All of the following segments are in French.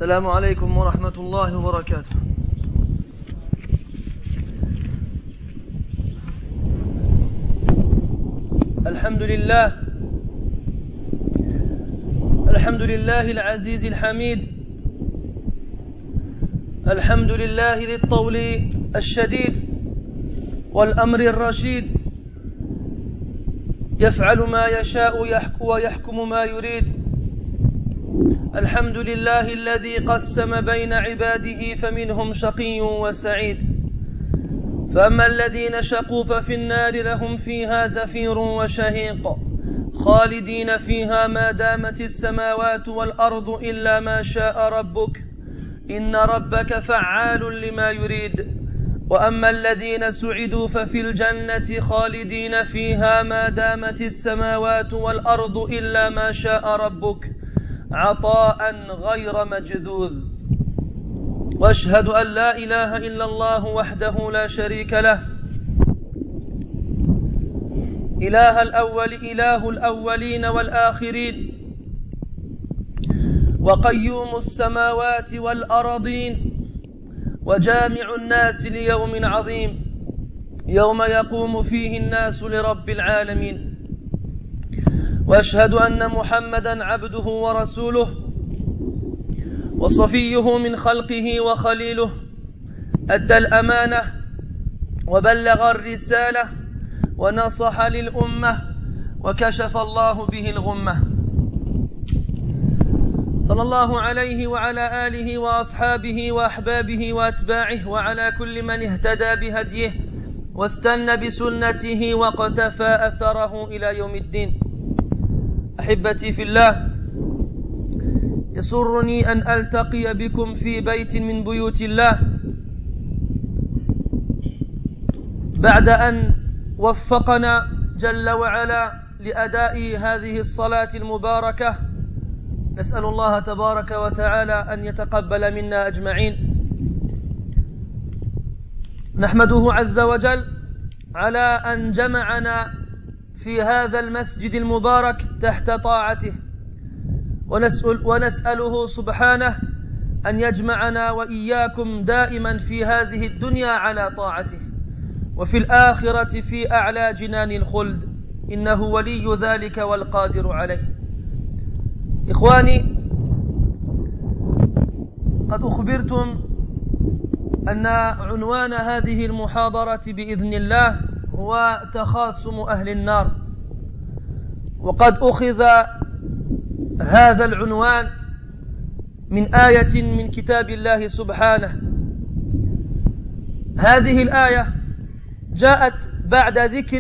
السلام عليكم ورحمة الله وبركاته. الحمد لله العزيز الحميد، الحمد لله ذي الطول الشديد والأمر الرشيد، يفعل ما يشاء ويحكم ما يريد. الحمد لله الذي قسم بين عباده فمنهم شقي وسعيد، فأما الذين شقوا ففي النار لهم فيها زفير وشهيق خالدين فيها ما دامت السماوات والأرض إلا ما شاء ربك إن ربك فعال لما يريد. وأما الذين سعدوا ففي الجنة خالدين فيها ما دامت السماوات والأرض إلا ما شاء ربك عطاء غير مجذوذ. وأشهد أن لا إله إلا الله وحده لا شريك له، إله الأولين والآخرين، وقيوم السماوات والأرضين، وجامع الناس ليوم عظيم يوم يقوم فيه الناس لرب العالمين. وأشهد أن محمدًا عبده ورسوله وصفيه من خلقه وخليله، أدى الأمانة وبلغ الرسالة ونصح للأمة وكشف الله به الغمة. صلى الله عليه وعلى آله وأصحابه وأحبابه وأتباعه وعلى كل من اهتدى بهديه واستنى بسنته واقتفى أثره إلى يوم الدين. أحبتي في الله، يسرني أن ألتقي بكم في بيت من بيوت الله بعد أن وفقنا جل وعلا لأداء هذه الصلاة المباركة. نسأل الله تبارك وتعالى أن يتقبل منا أجمعين. نحمده عز وجل على أن جمعنا في هذا المسجد المبارك تحت طاعته، ونسأله سبحانه أن يجمعنا وإياكم دائما في هذه الدنيا على طاعته، وفي الآخرة في أعلى جنان الخلد، إنه ولي ذلك والقادر عليه. إخواني، قد أخبرتم أن عنوان هذه المحاضرة بإذن الله هو تخاصم أهل النار، وقد أخذ هذا العنوان من آية من كتاب الله سبحانه. هذه الآية جاءت بعد ذكر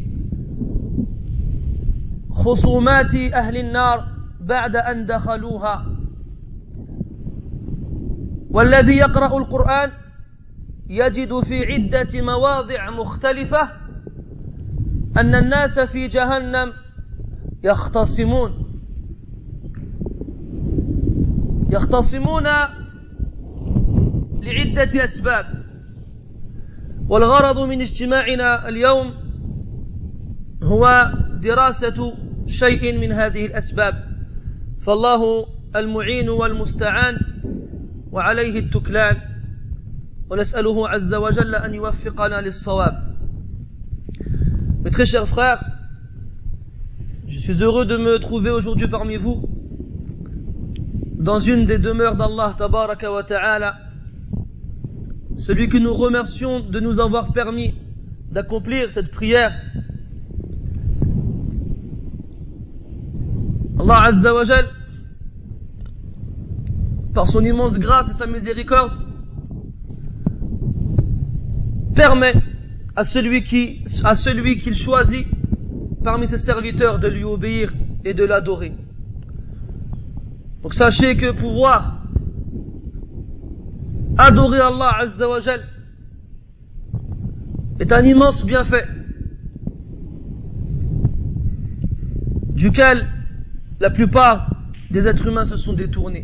خصومات أهل النار بعد أن دخلوها. والذي يقرأ القرآن يجد في عدة مواضع مختلفة أن الناس في جهنم يختصمون لعدة أسباب، والغرض من اجتماعنا اليوم هو دراسة شيء من هذه الأسباب، فالله المعين والمستعان وعليه التكلان، ونسأله عز وجل أن يوفقنا للصواب. Mes très chers frères, je suis heureux de me trouver aujourd'hui parmi vous dans une des demeures d'Allah Tabaraka wa Ta'ala, celui que nous remercions de nous avoir permis d'accomplir cette prière. Allah Azza wa Jal, par son immense grâce et sa miséricorde, permet à celui qu'il choisit parmi ses serviteurs de lui obéir et de l'adorer. Donc sachez que pouvoir adorer Allah Azza wa Jal est un immense bienfait duquel la plupart des êtres humains se sont détournés.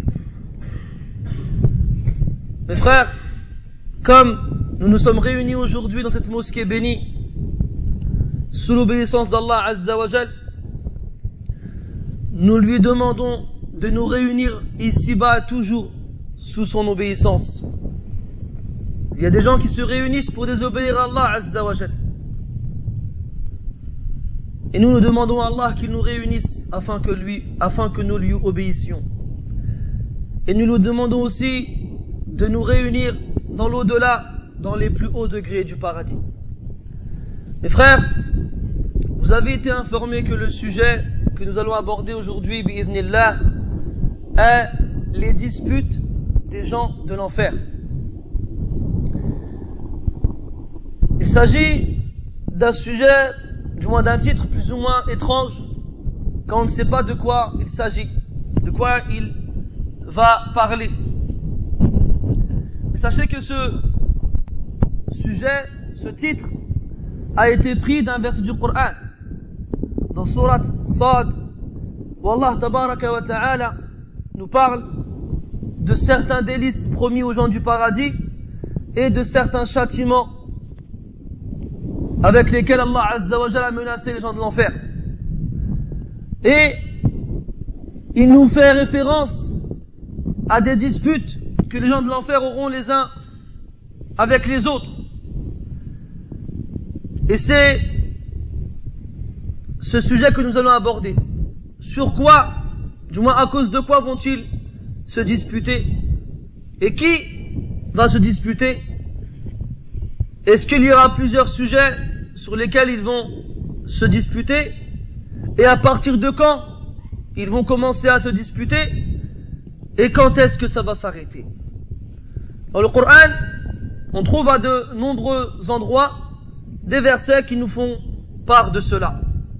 Mes frères, comme nous nous sommes réunis aujourd'hui dans cette mosquée bénie sous l'obéissance d'Allah Azza wa Jal, nous lui demandons de nous réunir ici-bas toujours sous son obéissance. Il y a des gens qui se réunissent pour désobéir à Allah Azza wa Jal. Et nous demandons à Allah qu'il nous réunisse afin que nous lui obéissions. Et nous nous demandons aussi de nous réunir dans l'au-delà, dans les plus hauts degrés du paradis. Mes frères, vous avez été informés que le sujet que nous allons aborder aujourd'hui, bi'idhnillah, est les disputes des gens de l'enfer. Il s'agit d'un sujet, du moins d'un titre plus ou moins étrange, quand on ne sait pas de quoi il s'agit, de quoi il va parler. Mais sachez que ce sujet, ce titre, a été pris d'un verset du Coran, dans Surat Sad, où Allah Tabaraka wa Ta'ala nous parle de certains délices promis aux gens du paradis et de certains châtiments avec lesquels Allah Azza wa Jalla a menacé les gens de l'enfer. Et il nous fait référence à des disputes que les gens de l'enfer auront les uns avec les autres. Et c'est ce sujet que nous allons aborder. Sur quoi, du moins à cause de quoi vont-ils se disputer? Et qui va se disputer? Est-ce qu'il y aura plusieurs sujets sur lesquels ils vont se disputer? Et à partir de quand ils vont commencer à se disputer? Et quand est-ce que ça va s'arrêter? Dans le Coran, on trouve à de nombreux endroits des versets qui nous font part de cela.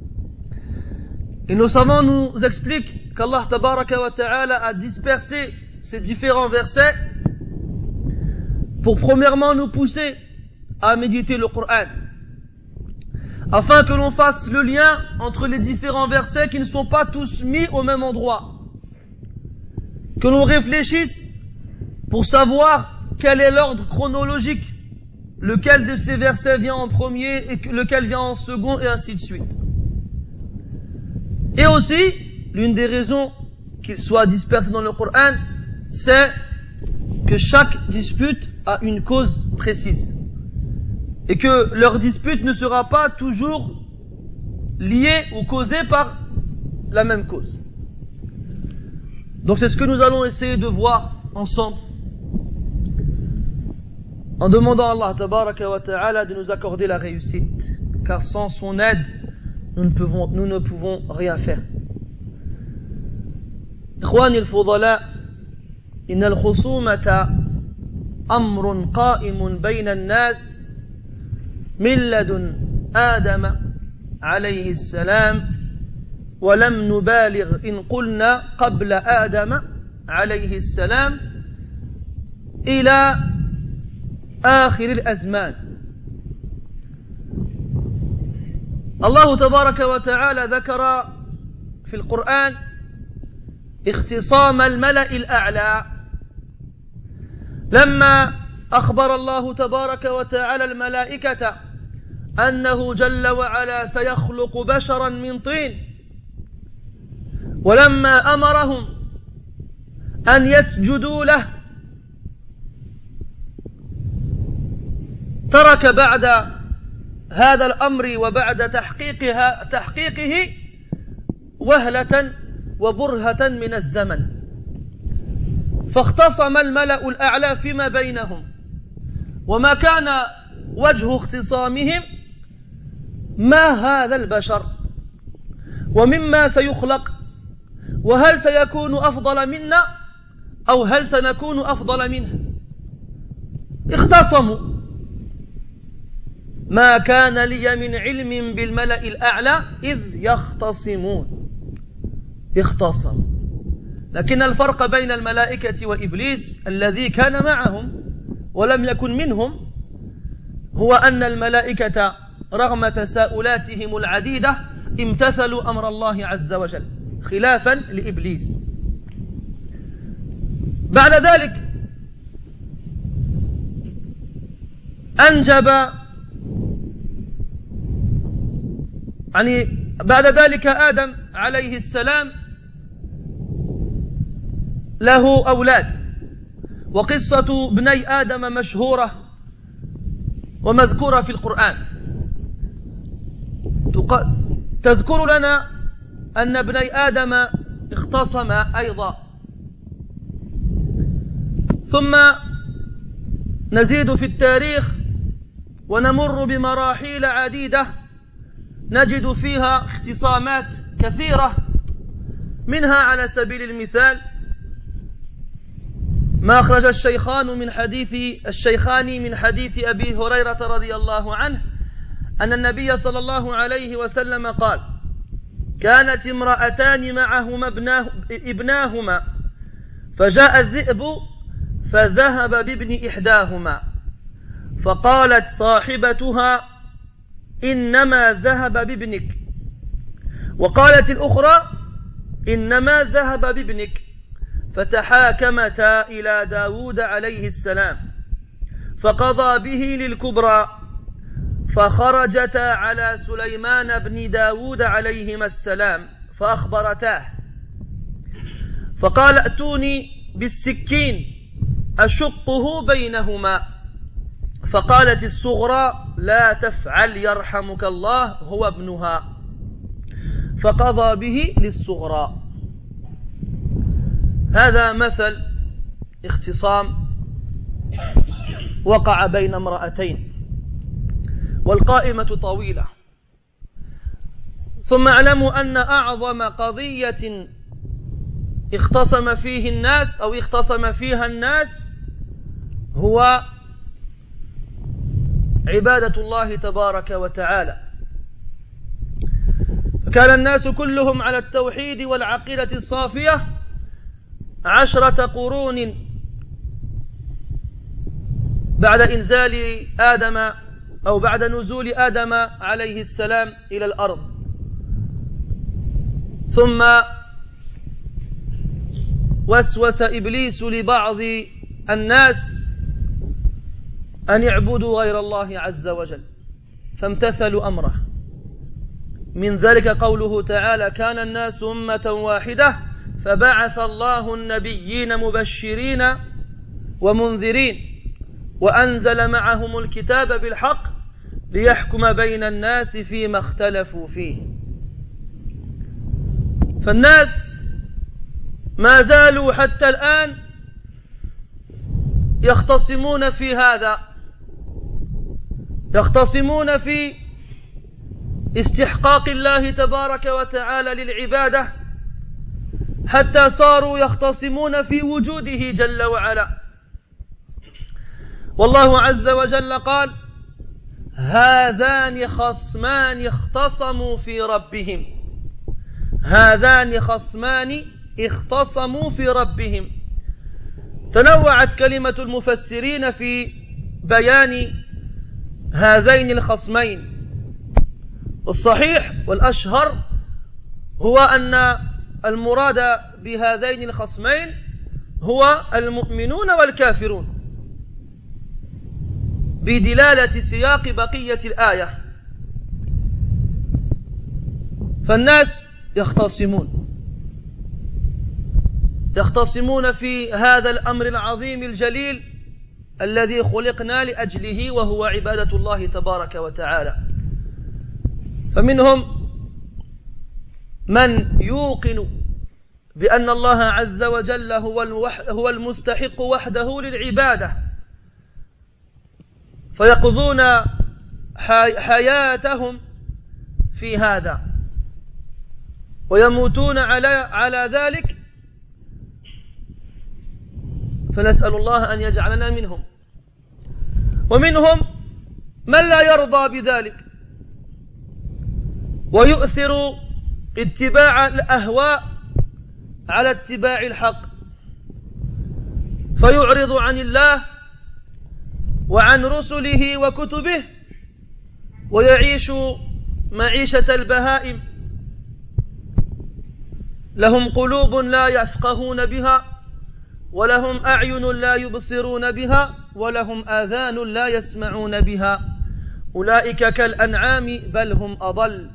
Et nos savants nous expliquent qu'Allah Tabaraka wa Ta'ala a dispersé ces différents versets pour premièrement nous pousser à méditer le Coran, afin que l'on fasse le lien entre les différents versets qui ne sont pas tous mis au même endroit, que l'on réfléchisse pour savoir quel est l'ordre chronologique, lequel de ces versets vient en premier et lequel vient en second, et ainsi de suite. Et aussi, l'une des raisons qu'ils soient dispersés dans le Coran, c'est que chaque dispute a une cause précise, et que leur dispute ne sera pas toujours liée ou causée par la même cause. Donc c'est ce que nous allons essayer de voir ensemble, en demandant à Allah Tabaraka wa Ta'ala de nous accorder la réussite, car sans son aide, nous ne pouvons rien faire. إخواني الفضلاء إن الخصومة أمر قائم بين الناس من لدن آدم عليه السلام، ولم نبالغ إن قلنا قبل آدم عليه السلام إلى آخر الأزمان. الله تبارك وتعالى ذكر في القرآن اختصام الملأ الأعلى لما أخبر الله تبارك وتعالى الملائكة أنه جل وعلا سيخلق بشرا من طين، ولما أمرهم أن يسجدوا له ترك بعد هذا الأمر وبعد تحقيقه وهلة وبرهة من الزمن، فاختصم الملأ الأعلى فيما بينهم، وما كان وجه اختصامهم ما هذا البشر ومما سيخلق، وهل سيكون أفضل منا أو هل سنكون أفضل منه. اختصموا. ما كان لي من علم بالملأ الأعلى إذ يختصمون. اختصموا. لكن الفرق بين الملائكة وإبليس الذي كان معهم ولم يكن منهم هو أن الملائكة رغم تساؤلاتهم العديدة امتثلوا أمر الله عز وجل خلافا لإبليس. بعد ذلك أنجب بعد ذلك آدم عليه السلام له أولاد، وقصة ابني آدم مشهورة ومذكورة في القرآن، تذكر لنا أن ابني آدم اختصما أيضا. ثم نزيد في التاريخ ونمر بمراحل عديدة نجد فيها اختصامات كثيرة، منها على سبيل المثال ما أخرج الشيخان من حديث أبي هريرة رضي الله عنه أن النبي صلى الله عليه وسلم قال: كانت امرأتان معهما ابناهما فجاء الذئب فذهب بابن إحداهما، فقالت صاحبتها: إنما ذهب بابنك، وقالت الأخرى: إنما ذهب بابنك، فتحاكمتا إلى داود عليه السلام فقضى به للكبرى، فخرجتا على سليمان بن داود عليهما السلام فأخبرتاه، فقال: ائتوني بالسكين أشقه بينهما، فقالت الصغرى: لا تفعل يرحمك الله، هو ابنها، فقضى به للصغرى. هذا مثل اختصام وقع بين امرأتين، والقائمة طويلة. ثم اعلموا أن أعظم قضية اختصم فيها الناس هو عبادة الله تبارك وتعالى. فكان الناس كلهم على التوحيد والعقيدة الصافية 10 قرون بعد إنزال آدم أو بعد نزول آدم عليه السلام إلى الأرض. ثم وسوس إبليس لبعض الناس أن يعبدوا غير الله عز وجل، فامتثلوا أمره. من ذلك قوله تعالى: كان الناس أمة واحدة فبعث الله النبيين مبشرين ومنذرين وأنزل معهم الكتاب بالحق ليحكم بين الناس فيما اختلفوا فيه. فالناس ما زالوا حتى الآن يختصمون في هذا، يختصمون في استحقاق الله تبارك وتعالى للعبادة، حتى صاروا يختصمون في وجوده جل وعلا. والله عز وجل قال: هذان خصمان اختصموا في ربهم، هذان خصمان اختصموا في ربهم. تنوعت كلمة المفسرين في بيان هذين الخصمين، والصحيح والأشهر هو أن المراد بهذين الخصمين هو المؤمنون والكافرون، بدلالة سياق بقية الآية. فالناس يختصمون في هذا الأمر العظيم الجليل الذي خلقنا لأجله، وهو عبادة الله تبارك وتعالى. فمنهم من يوقن بأن الله عز وجل هو المستحق وحده للعبادة، فيقضون حياتهم في هذا ويموتون على ذلك، فنسأل الله أن يجعلنا منهم. ومنهم من لا يرضى بذلك ويؤثر اتباع الأهواء على اتباع الحق، فيعرض عن الله وعن رسله وكتبه ويعيش معيشة البهائم. لهم قلوب لا يفقهون بها، ولهم أعين لا يبصرون بها، ولهم آذان لا يسمعون بها، أولئك كالأنعام بل هم أضل،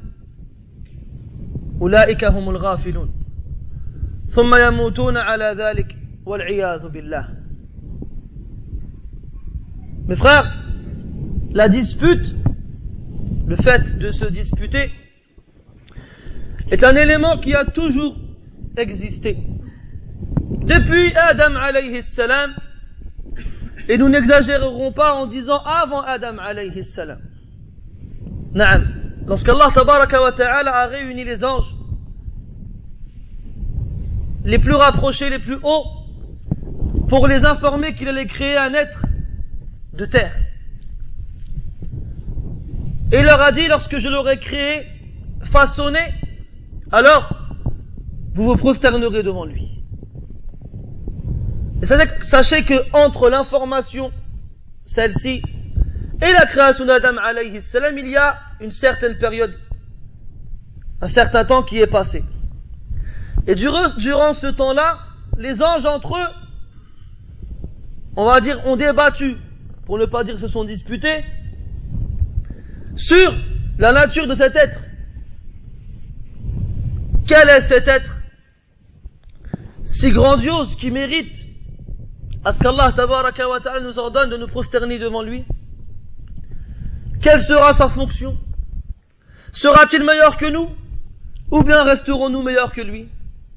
أولئك هم الغافلون. ثم يموتون على ذلك والعياذ بالله. Mes frères, la dispute, le fait de se disputer, est un élément qui a toujours existé. Depuis Adam alayhi salam, et nous n'exagérerons pas en disant avant Adam alayhi salam. Naam. Lorsqu'Allah tabaraka wa ta'ala a réuni les anges, les plus rapprochés, les plus hauts, pour les informer qu'il allait créer un être de terre. Et il leur a dit, lorsque je l'aurai créé, façonné, alors vous vous prosternerez devant lui. Et sachez que entre l'information, celle-ci, et la création d'Adam alayhi salam, il y a une certaine période, un certain temps qui est passé. Et durant ce temps-là, les anges entre eux, on va dire, ont débattu, pour ne pas dire se sont disputés, sur la nature de cet être. Quel est cet être si grandiose qui mérite à ce qu'Allah tabaraka wa ta'ala nous ordonne de nous prosterner devant lui? Quelle sera sa fonction? Sera-t-il meilleur que nous? Ou bien resterons-nous meilleurs que lui?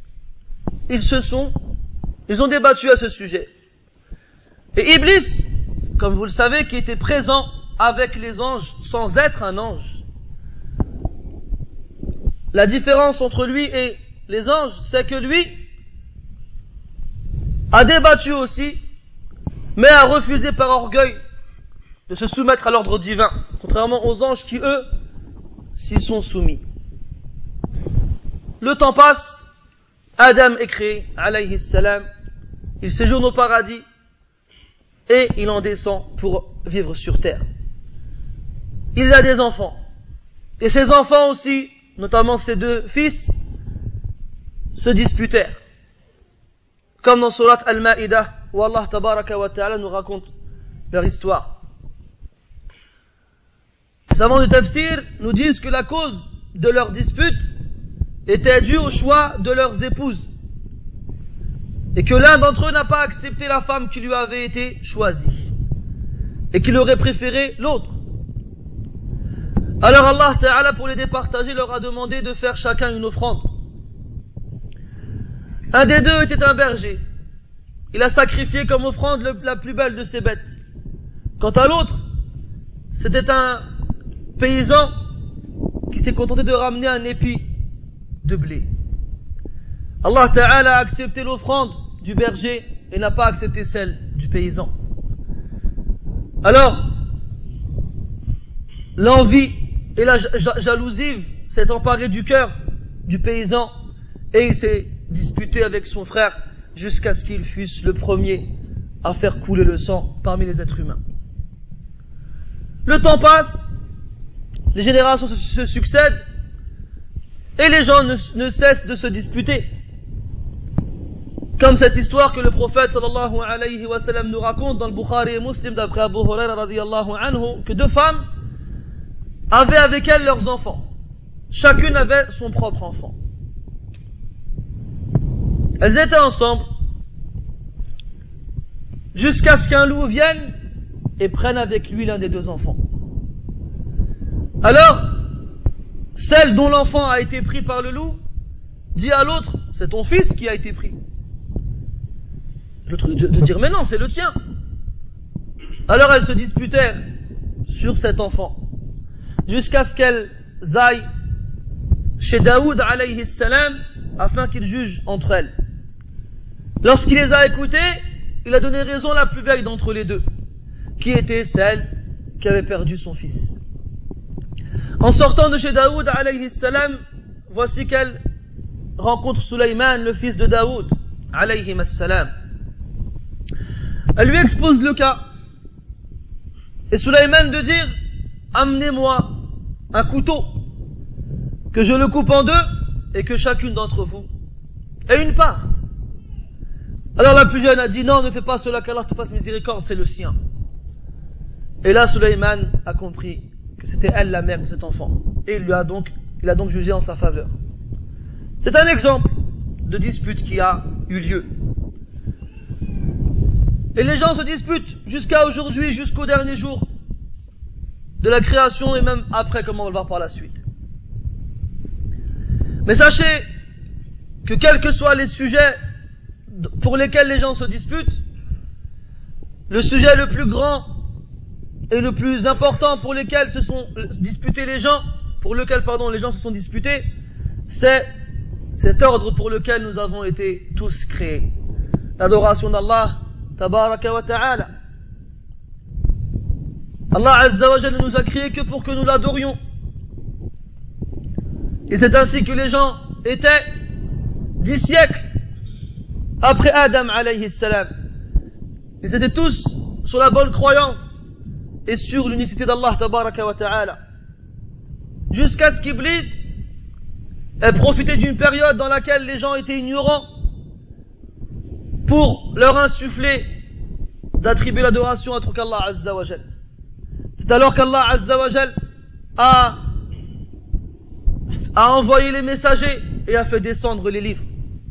Ils ont débattu à ce sujet. Et Iblis, comme vous le savez, qui était présent avec les anges sans être un ange. La différence entre lui et les anges, c'est que lui a débattu aussi, mais a refusé par orgueil de se soumettre à l'ordre divin, contrairement aux anges qui, eux, s'y sont soumis. Le temps passe, Adam est créé, alayhi salam, il séjourne au paradis, et il en descend pour vivre sur terre. Il a des enfants, et ses enfants aussi, notamment ses deux fils, se disputèrent. Comme dans Surat Al-Ma'idah, où Allah tabaraka wa ta'ala nous raconte leur histoire. Les savants du tafsir nous disent que la cause de leur dispute était due au choix de leurs épouses. Et que l'un d'entre eux n'a pas accepté la femme qui lui avait été choisie. Et qu'il aurait préféré l'autre. Alors Allah Ta'ala, pour les départager, leur a demandé de faire chacun une offrande. Un des deux était un berger. Il a sacrifié comme offrande la plus belle de ses bêtes. Quant à l'autre, c'était un paysan qui s'est contenté de ramener un épi de blé. Allah Ta'ala a accepté l'offrande du berger et n'a pas accepté celle du paysan. Alors, l'envie et la jalousie s'est emparée du cœur du paysan et il s'est disputé avec son frère jusqu'à ce qu'il fût le premier à faire couler le sang parmi les êtres humains. Le temps passe, les générations se succèdent et les gens ne cessent de se disputer. Comme cette histoire que le prophète sallallahu alayhi wa sallam nous raconte dans le Bukhari et Muslim d'après Abu Huraira radiyallahu anhu, que deux femmes avaient avec elles leurs enfants. Chacune avait son propre enfant. Elles étaient ensemble jusqu'à ce qu'un loup vienne et prenne avec lui l'un des deux enfants. Alors, celle dont l'enfant a été pris par le loup dit à l'autre, c'est ton fils qui a été pris. L'autre de dire, mais non, c'est le tien. Alors elles se disputèrent sur cet enfant, jusqu'à ce qu'elles aillent chez Daoud alayhi salam, afin qu'il juge entre elles. Lorsqu'il les a écoutées, il a donné raison à la plus vieille d'entre les deux, qui était celle qui avait perdu son fils. En sortant de chez Daoud alayhi salam, voici qu'elle rencontre Sulayman, le fils de Daoud alayhi salam. Elle lui expose le cas. Et Sulayman de dire, amenez-moi un couteau, que je le coupe en deux, et que chacune d'entre vous ait une part. Alors la plus jeune a dit, non, ne fais pas cela, qu'Allah te fasse miséricorde, c'est le sien. Et là, Sulayman a compris que c'était elle la mère de cet enfant. Et il a donc jugé en sa faveur. C'est un exemple de dispute qui a eu lieu. Et les gens se disputent jusqu'à aujourd'hui, jusqu'au dernier jour de la création et même après, comme on va le voir par la suite. Mais sachez que quels que soient les sujets pour lesquels les gens se disputent, le sujet le plus grand et le plus important pour lequel se sont disputés les gens, les gens se sont disputés, c'est cet ordre pour lequel nous avons été tous créés. L'adoration d'Allah, tabaraka wa ta'ala. Allah Azza wa Jalla ne nous a créés que pour que nous l'adorions. Et c'est ainsi que les gens étaient 10 siècles après Adam alayhi salam. Ils étaient tous sur la bonne croyance et sur l'unicité d'Allah tabaraka wa ta'ala. Jusqu'à ce qu'Iblis ait profité d'une période dans laquelle les gens étaient ignorants pour leur insuffler d'attribuer l'adoration à autre qu'Allah Azza wa Jalla. C'est alors qu'Allah Azza wa Jalla a envoyé les messagers et a fait descendre les livres.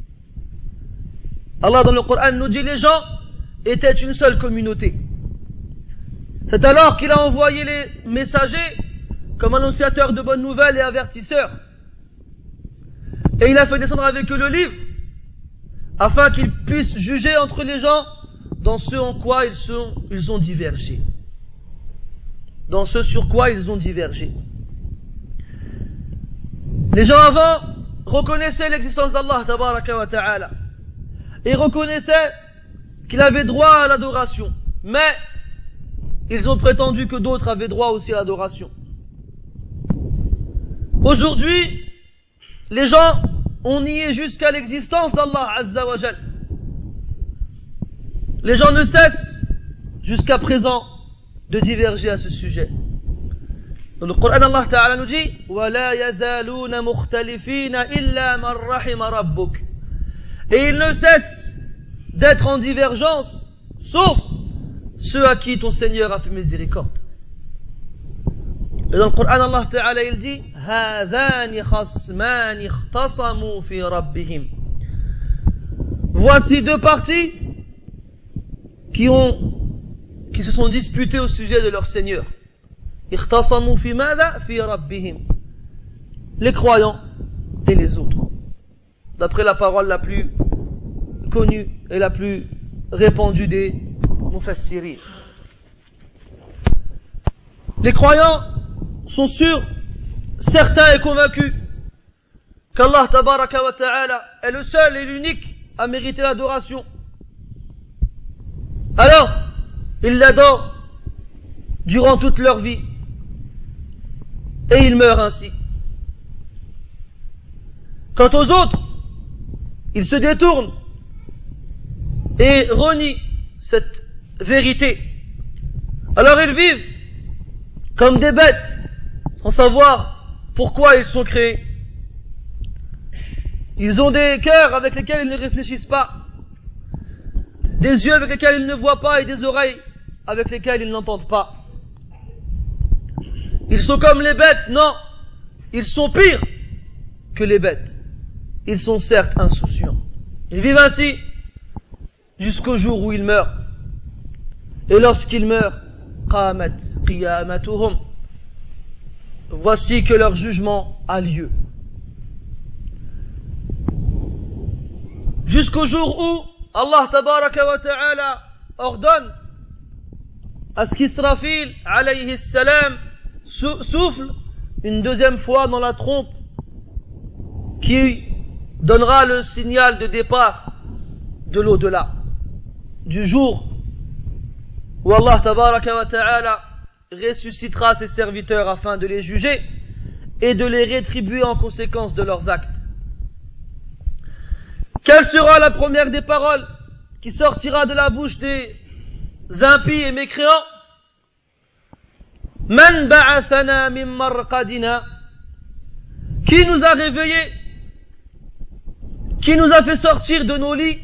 Allah dans le Coran nous dit les gens étaient une seule communauté. C'est alors qu'il a envoyé les messagers comme annonciateurs de bonnes nouvelles et avertisseurs. Et il a fait descendre avec eux le livre afin qu'ils puissent juger entre les gens dans ce en quoi ils ont divergé. Dans ce sur quoi ils ont divergé. Les gens avant reconnaissaient l'existence d'Allah tabaraka wa ta'ala et reconnaissaient qu'il avait droit à l'adoration, mais ils ont prétendu que d'autres avaient droit aussi à l'adoration. Aujourd'hui, les gens ont nié jusqu'à l'existence d'Allah Azza wa Jal. Les gens ne cessent jusqu'à présent de diverger à ce sujet. Dans le Coran, Allah Ta'ala nous dit وَلَا يَزَالُونَ مُخْتَلِفِينَ إِلَّا مَنْ رَحِمَ رَبُّكَ. Et ils ne cessent d'être en divergence, sauf ceux à qui ton Seigneur a fait miséricorde. Et dans le Coran, Allah Ta'ala il dit هَذَانِ خَصْمَانِ اخْتَصَمُوا فِي رَبِّهِمْ. Voici deux parties qui se sont disputés au sujet de leur Seigneur. اخْتَصَمُوا فِي مَاذَا فِي رَبِّهِمْ. Les croyants et les autres. D'après la parole la plus connue et la plus répandue des mufassirin. Les croyants sont sûrs, certains et convaincus qu'Allah tabaraka wa ta'ala est le seul et l'unique à mériter l'adoration. Alors, ils l'adorent durant toute leur vie et ils meurent ainsi. Quant aux autres, ils se détournent et renient cette vérité. Alors ils vivent comme des bêtes sans savoir pourquoi ils sont créés. Ils ont des cœurs avec lesquels ils ne réfléchissent pas, des yeux avec lesquels ils ne voient pas et des oreilles avec lesquelles ils n'entendent pas. Ils sont comme les bêtes, non, ils sont pires que les bêtes. Ils sont certes insouciants. Ils vivent ainsi jusqu'au jour où ils meurent. Et lorsqu'ils meurent, qamat qiyamatuhum. Voici que leur jugement a lieu. Jusqu'au jour où Allah tabaraka wa ta'ala ordonne à ce qu'Israfil alayhi salam souffle une deuxième fois dans la trompe qui donnera le signal de départ de l'au-delà, du jour où Allah tabaraka wa ta'ala ressuscitera ses serviteurs afin de les juger et de les rétribuer en conséquence de leurs actes. Quelle sera la première des paroles qui sortira de la bouche des impies et mécréants? Man ba'athana min marqadina. Qui nous a réveillés? Qui nous a fait sortir de nos lits?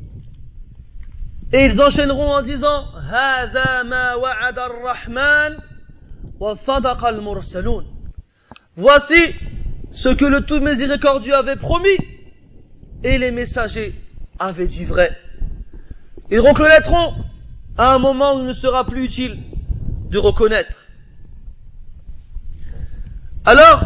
Et ils enchaîneront en disant Hādhā mā wa'ada ar-Rahmān wa sadaqa al-mursaloon. Voici ce que le tout miséricordieux avait promis et les messagers avaient dit vrai. Ils reconnaîtront à un moment où il ne sera plus utile de reconnaître. Alors,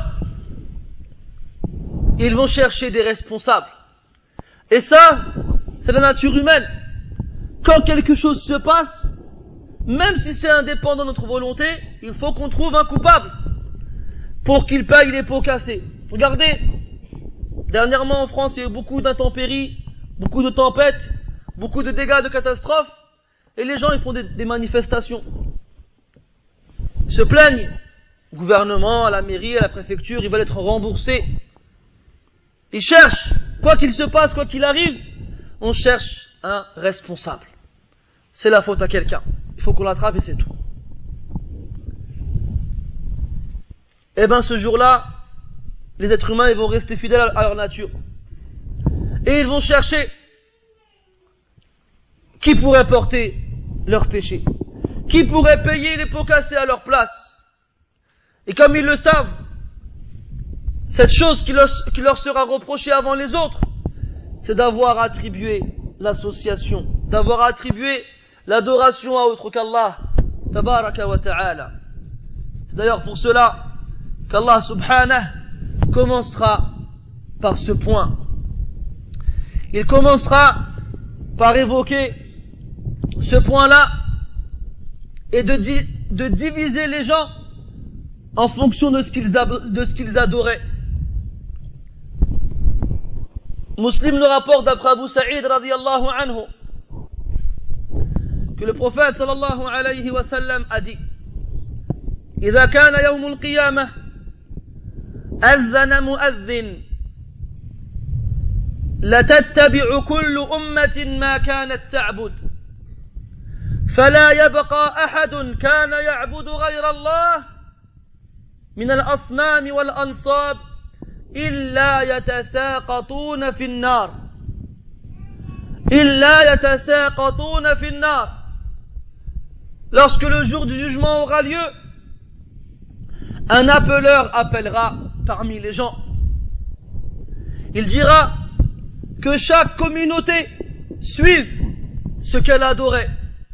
ils vont chercher des responsables. Et ça, c'est la nature humaine. Quand quelque chose se passe, même si c'est indépendant de notre volonté, il faut qu'on trouve un coupable pour qu'il paye les pots cassés. Regardez, dernièrement en France, il y a eu beaucoup d'intempéries, beaucoup de tempêtes, beaucoup de dégâts, de catastrophes, et les gens ils font des manifestations. Ils se plaignent au gouvernement, à la mairie, à la préfecture, ils veulent être remboursés. Ils cherchent, quoi qu'il se passe, quoi qu'il arrive, on cherche un responsable. C'est la faute à quelqu'un. Il faut qu'on l'attrape et c'est tout. Et bien ce jour-là, les êtres humains ils vont rester fidèles à leur nature. Et ils vont chercher qui pourrait porter leur péché, qui pourrait payer les pots cassés à leur place. Et comme ils le savent, cette chose qui leur sera reprochée avant les autres, c'est d'avoir attribué l'association, d'avoir attribué l'adoration à autre qu'Allah, tabaraka wa ta'ala. C'est d'ailleurs pour cela qu'Allah subhanahu commencera par ce point. Il commencera par évoquer ce point-là et de diviser les gens en fonction de ce qu'ils adoraient. Muslim le rapporte d'après Abu Sa'id radiyallahu anhu que le prophète sallallahu alayhi wa sallam a dit: إذا كان يوم القيامة أذن مؤذن لتتبع كل أمة ما كانت تعبد فلا يبقى أحد كان يعبد غير الله من الأصنام والأنصاب إلا يتساقطون في النار Lorsque le jour du jugement aura lieu, un appeleur appellera parmi les gens. Il dira que chaque communauté suive ce qu'elle adorait.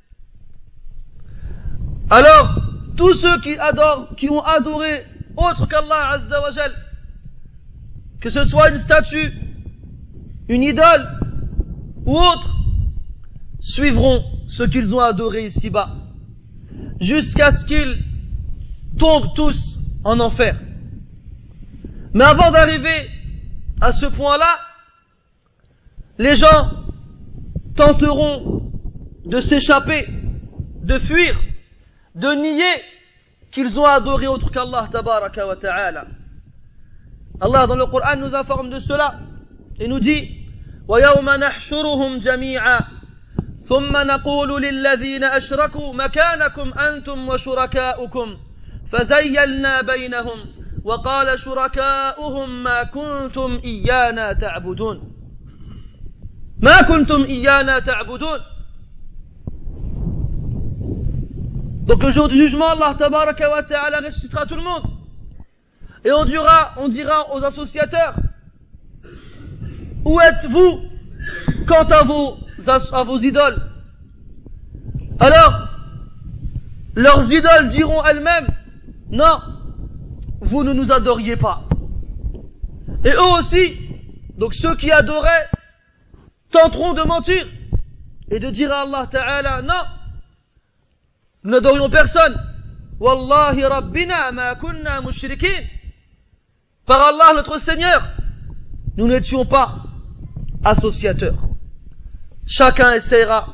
Alors, tous ceux qui ont adoré autre qu'Allah Azza wa Jal, que ce soit une statue, une idole ou autre, suivront ce qu'ils ont adoré ici-bas, jusqu'à ce qu'ils tombent tous en enfer. Mais avant d'arriver à ce point-là, les gens tenteront de s'échapper, de fuir, de nier qu'ils ont adoré autre qu'Allah tabaraka wa ta'ala. Allah dans le Coran nous informe de cela et nous dit: وَيَوْمَ نَحْشُرُهُمْ جَمِيعًا ثُمَّ نَقُولُ لِلَّذِينَ أَشْرَكُوا مَكَانَكُمْ أَنْتُمْ وَشُرَكَاؤُكُمْ فَزَيَّلْنَا بَيْنَهُمْ وَقَالَ شُرَكَاؤُهُمْ مَا كُنْتُمْ إِيَّانَا تَعْبُدُونَ ما كنتم إيانا تعبدون. Donc le jour du jugement, Allah tabaraka wa ta'ala ressuscitera tout le monde. Et on dira aux associateurs: où êtes-vous quant à vos idoles? Alors, leurs idoles diront elles-mêmes: non, vous ne nous adoriez pas. Et eux aussi, donc ceux qui adoraient, tenteront de mentir et de dire à Allah Ta'ala: non, nous n'adorions personne. Wallahi Rabbina ma kunna mushrikin. Par Allah notre Seigneur, nous n'étions pas associateurs. Chacun essaiera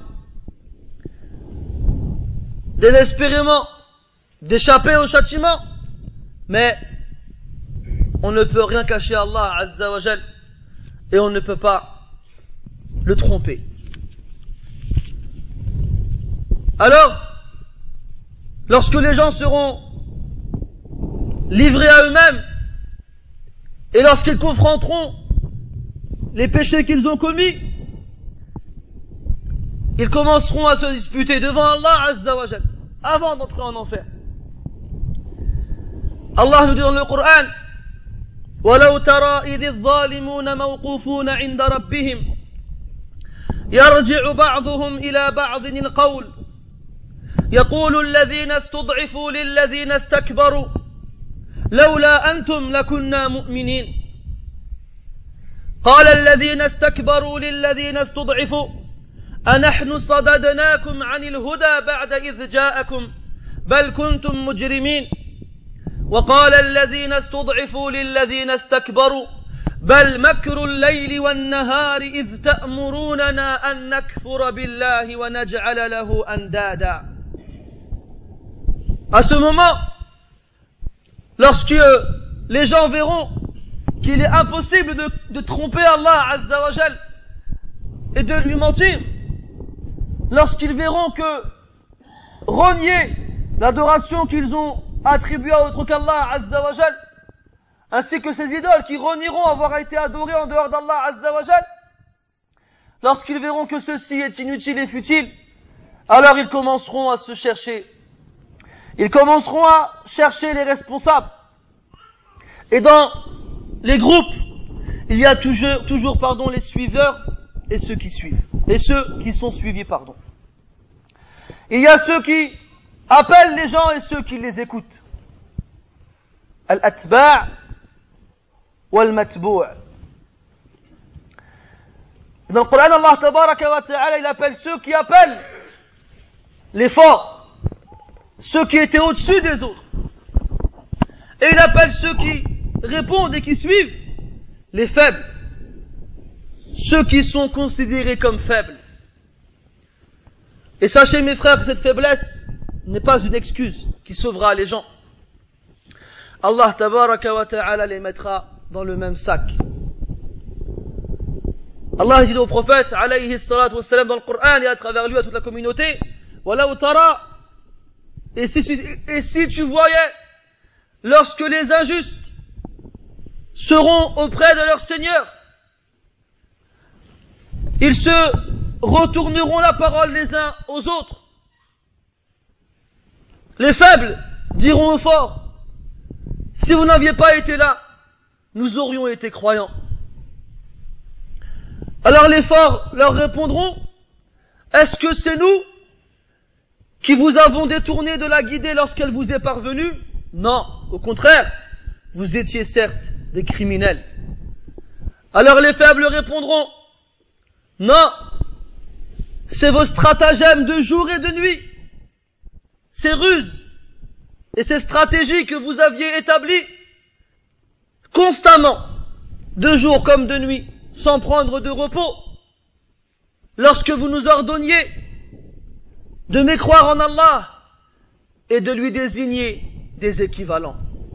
désespérément d'échapper au châtiment, mais on ne peut rien cacher à Allah Azza wa Jal et on ne peut pas le tromper. Alors, lorsque les gens seront livrés à eux-mêmes et lorsqu'ils confronteront les péchés qu'ils ont commis, ils commenceront à se disputer devant Allah Azza wa Jal avant d'entrer en enfer. Allah nous dit dans le Coran: وَلَوْ تَرَى إِذِ الظَّالِمُونَ مَوْقُوفُونَ عِنْدَ رَبِّهِمْ يرجع بعضهم إلى بعض القول يقول الذين استضعفوا للذين استكبروا لولا أنتم لكنا مؤمنين قال الذين استكبروا للذين استضعفوا أنحن صددناكم عن الهدى بعد إذ جاءكم بل كنتم مجرمين وقال الذين استضعفوا للذين استكبروا بل مكر الليل والنهار إذ تأمروننا أن نكفر بالله ونجعل له أندادا. À ce moment, lorsque les gens verront qu'il est impossible de tromper Allah Azza wa Jal et de lui mentir, lorsqu'ils verront que renier l'adoration qu'ils ont attribuée à autre qu'Allah Azza wa Jal, ainsi que ces idoles qui renieront avoir été adorées en dehors d'Allah Azza wa Jal, lorsqu'ils verront que ceci est inutile et futile, alors ils commenceront à se chercher. Ils commenceront à chercher les responsables. Et dans les groupes, il y a toujours les suiveurs et ceux qui suivent. Et ceux qui sont suivis, Il y a ceux qui appellent les gens et ceux qui les écoutent. Al-atba' wal-matbu'. Dans le Coran, Allah tabaraka wa ta'ala, il appelle ceux qui appellent les forts, ceux qui étaient au-dessus des autres. Et il appelle ceux qui répondent et qui suivent les faibles, ceux qui sont considérés comme faibles. Et sachez mes frères que cette faiblesse n'est pas une excuse qui sauvera les gens. Allah tabaraka wa ta'ala les mettra dans le même sac. Allah dit au prophète alayhi salatu wassalam dans le Coran et à travers lui à toute la communauté, Walaw tara, et si tu voyais lorsque les injustes seront auprès de leur Seigneur, ils se retourneront la parole les uns aux autres. Les faibles diront aux forts, si vous n'aviez pas été là, nous aurions été croyants. Alors les forts leur répondront, est-ce que c'est nous qui vous avons détourné de la guidée lorsqu'elle vous est parvenue? Non, au contraire, vous étiez certes des criminels. Alors les faibles répondront, non, c'est vos stratagèmes de jour et de nuit, ces ruses et ces stratégies que vous aviez établies constamment, de jour comme de nuit, sans prendre de repos, lorsque vous nous ordonniez de mécroire en Allah et de lui désigner des équivalents.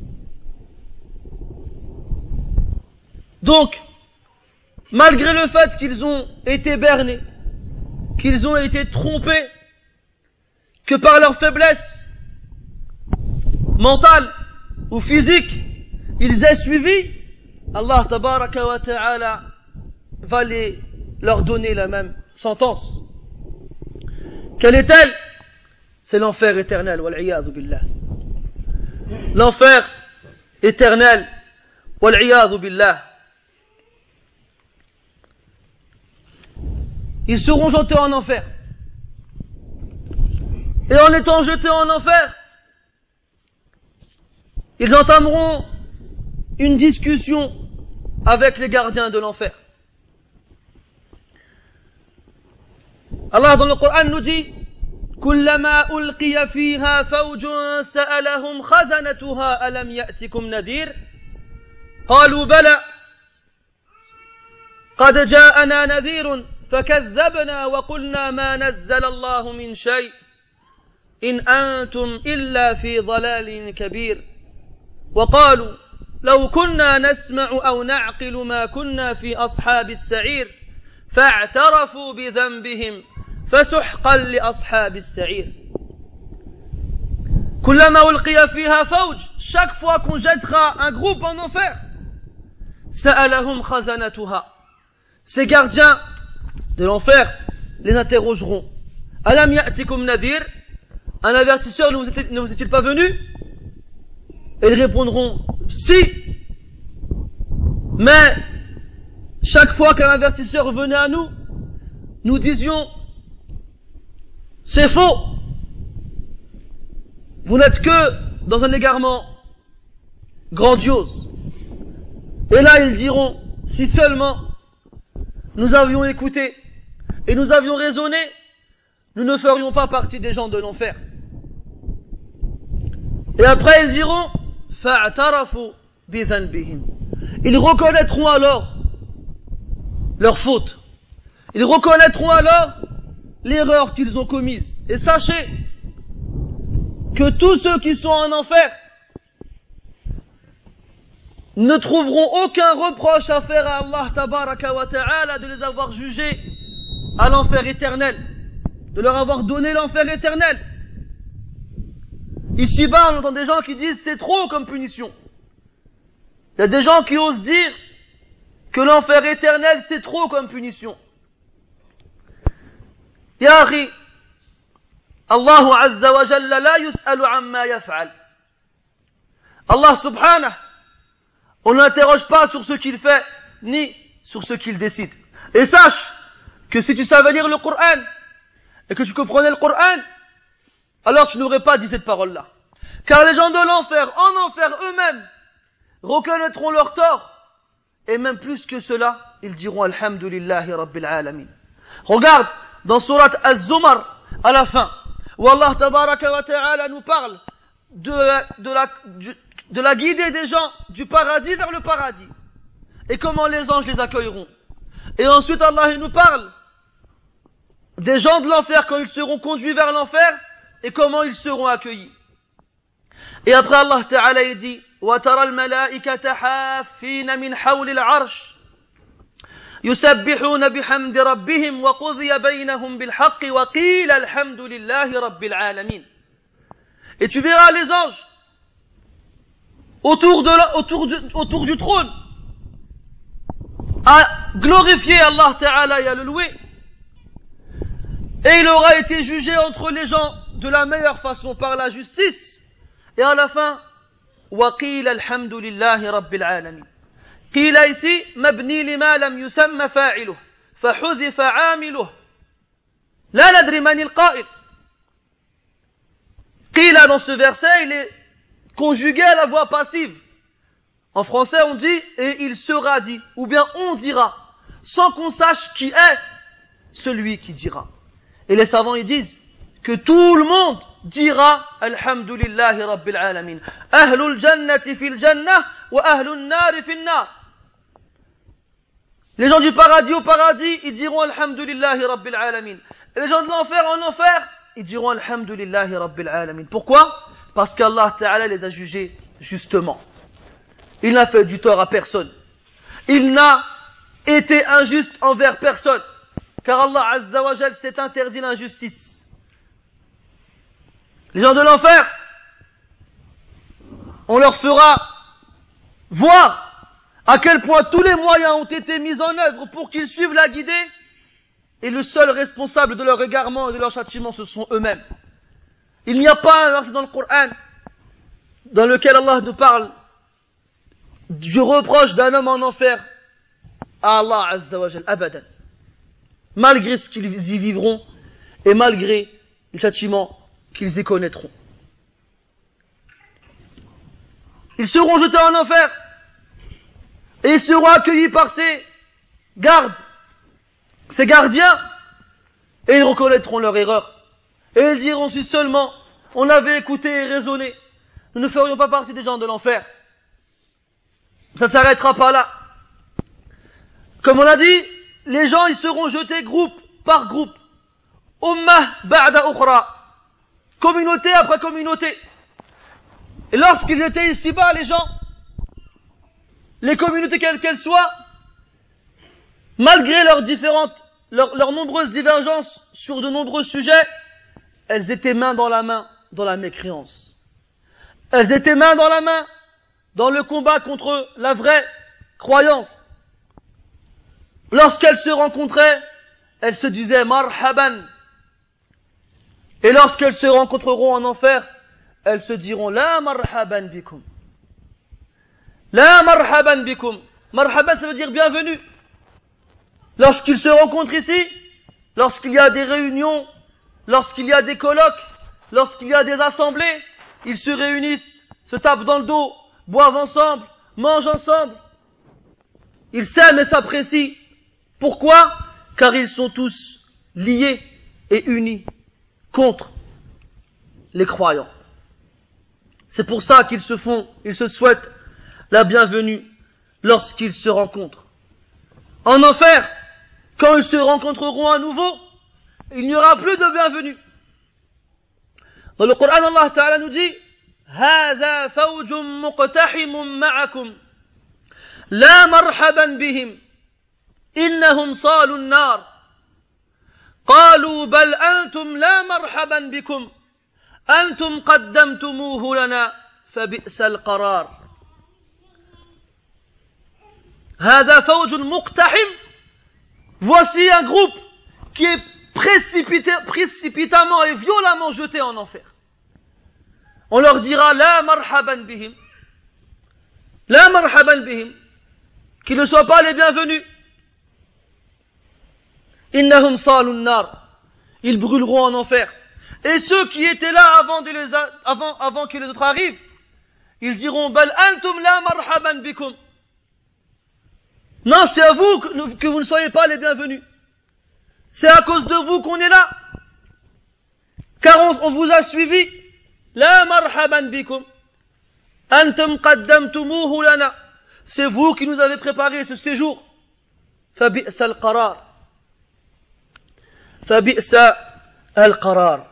Donc, malgré le fait qu'ils ont été bernés, qu'ils ont été trompés, que par leur faiblesse mentale ou physique, ils aient suivi, Allah tabaraka wa ta'ala va leur donner la même sentence. Quelle est-elle? C'est l'enfer éternel, wal-'iyadhu billah. L'enfer éternel, wal-'iyadhu billah. Ils seront jetés en enfer. Et en étant jetés en enfer, ils entameront une discussion avec les gardiens de l'enfer. Allah dans le Coran nous dit كلما ألقي فيها فوج سألهم خزنتها ألم يأتكم نذير قالوا بلى قد جاءنا نذير فكذبنا وقلنا ما نزل الله من شيء إن أنتم إلا في ضلال كبير وقالوا لو كنا نسمع أو نعقل ما كنا في أصحاب السعير فاعترفوا بذنبهم فسحقا لأصحاب السعير. كلما ألقي فيها فوج, chaque fois qu'on jettera un groupe en enfer, سألهم خزنتها, ces gardiens de l'enfer les interrogeront. ألم يأتكم نذير, un avertisseur ne vous est-il pas venu? Et ils répondront si, mais chaque fois qu'un avertisseur venait à nous, nous disions c'est faux, vous n'êtes que dans un égarement grandiose. Et là, ils diront, si seulement nous avions écouté et nous avions raisonné, nous ne ferions pas partie des gens de l'enfer. Et après, ils diront, fa'atarafu bidhanbihim. Ils reconnaîtront alors leur faute. Ils reconnaîtront alors l'erreur qu'ils ont commise. Et sachez que tous ceux qui sont en enfer ne trouveront aucun reproche à faire à Allah tabaraka wa ta'ala de les avoir jugés à l'enfer éternel, de leur avoir donné l'enfer éternel. Ici-bas, on entend des gens qui disent c'est trop comme punition. Il y a des gens qui osent dire que l'enfer éternel c'est trop comme punition. Ya akhi, Allahu azza wa jalla la yus'alu amma yaf'al. Allah subhanahu, on ne l'interroge pas sur ce qu'il fait, ni sur ce qu'il décide. Et sache que si tu savais lire le Coran, et que tu comprenais le Coran, alors tu n'aurais pas dit cette parole-là. Car les gens de l'enfer, en enfer eux-mêmes, reconnaîtront leur tort, et même plus que cela, ils diront Alhamdulillahi Rabbil Alamin. Regarde, dans Surat Az-Zumar, à la fin, où Allah tabaraka wa ta'ala nous parle de la guidée des gens du paradis vers le paradis, et comment les anges les accueilleront. Et ensuite Allah il nous parle des gens de l'enfer quand ils seront conduits vers l'enfer, et comment ils seront accueillis. Et après Allah Ta'ala il dit وَتَرَى الْمَلَائِكَةَ حَافِّينَ مِنْ حَوْلِ الْعَرْشِ يُسَبِّحُونَ بِحَمْدِ رَبِّهِمْ وَقُضِيَ بَيْنَهُمْ بِالْحَقِّ وَقِيلَ الْحَمْدُ لِلَّهِ رَبِّ الْعَالَمِينَ. Et tu verras les anges autour du trône à glorifier Allah Ta'ala et à le louer. Et il aura été jugé entre les gens de la meilleure façon par la justice. Et à la fin, وَقِيلَ الْحَمْدُ لِلَّهِ رَبِّ الْعَالَمِينَ. قيل ici, مبني لما لم يسمى فاعله فحذف عامله لا ندري من القائل. قيل dans ce verset, il est conjugué à la voix passive. En français, on dit et il sera dit, ou bien on dira, sans qu'on sache qui est celui qui dira. Et les savants ils disent que tout le monde dira Alhamdulillahi Rabbil Alamin. Ahlul jannati fil jannah wa ahlun nari fil nar. Les gens du paradis au paradis, ils diront Alhamdulillahi Rabbil Alamin. Et les gens de l'enfer en enfer, ils diront Alhamdulillahi Rabbil Alamin. Pourquoi? Parce qu'Allah Ta'ala les a jugés justement. Il n'a fait du tort à personne. Il n'a été injuste envers personne. Car Allah Azza wa Jal s'est interdit l'injustice. Les gens de l'enfer, on leur fera voir à quel point tous les moyens ont été mis en œuvre pour qu'ils suivent la guidée, et le seul responsable de leur égarement et de leur châtiment, ce sont eux-mêmes. Il n'y a pas un verset dans le Coran dans lequel Allah nous parle du reproche d'un homme en enfer à Allah Azza wa Jal, abadan. Malgré ce qu'ils y vivront et malgré les châtiments qu'ils y connaîtront. Ils seront jetés en enfer et ils seront accueillis par ces gardes, ces gardiens, et ils reconnaîtront leur erreur. Et ils diront si seulement on avait écouté et raisonné, nous ne ferions pas partie des gens de l'enfer. Ça ne s'arrêtera pas là. Comme on a dit, les gens ils seront jetés groupe par groupe. Ummah ba'da ukhra. Communauté après communauté. Et lorsqu'ils étaient ici-bas, les gens, les communautés quelles qu'elles soient, malgré leurs nombreuses divergences sur de nombreux sujets, elles étaient main dans la mécréance. Elles étaient main dans la main dans le combat contre la vraie croyance. Lorsqu'elles se rencontraient, elles se disaient marhaban. Et lorsqu'elles se rencontreront en enfer, elles se diront la marhaban bikum. La marhaban bikum. Marhaban, ça veut dire bienvenue. Lorsqu'ils se rencontrent ici, lorsqu'il y a des réunions, lorsqu'il y a des colloques, lorsqu'il y a des assemblées, ils se réunissent, se tapent dans le dos, boivent ensemble, mangent ensemble. Ils s'aiment et s'apprécient. Pourquoi? Car ils sont tous liés et unis contre les croyants. C'est pour ça qu'ils se souhaitent la bienvenue lorsqu'ils se rencontrent. En enfer, quand ils se rencontreront à nouveau, il n'y aura plus de bienvenue. Dans le Coran, Allah Ta'ala nous dit هذا فوج مقتحم معكم لا مرحبا بهم إنهم صالوا النار قالوا بل أنتم لا مرحبا بكم أنتم قدمتموه لنا فبئس القرار هذا فوج مقتحم. Voici un groupe qui est précipitamment et violemment jeté en enfer. On leur dira la marhaban bihim, la marhaban bihim, qu'ils ne soient pas les bienvenus. Innahum salun nar, ils brûleront en enfer. Et ceux qui étaient là avant que les autres arrivent, ils diront bal antum la marhaban bikum. Non, c'est à vous que vous ne soyez pas les bienvenus. C'est à cause de vous qu'on est là. Car on vous a suivi. La marhaban bikum. Antum qaddamtumuhu lana. C'est vous qui nous avez préparé ce séjour. Fabi'sa al-qarar. Fabi'sa al-qarar.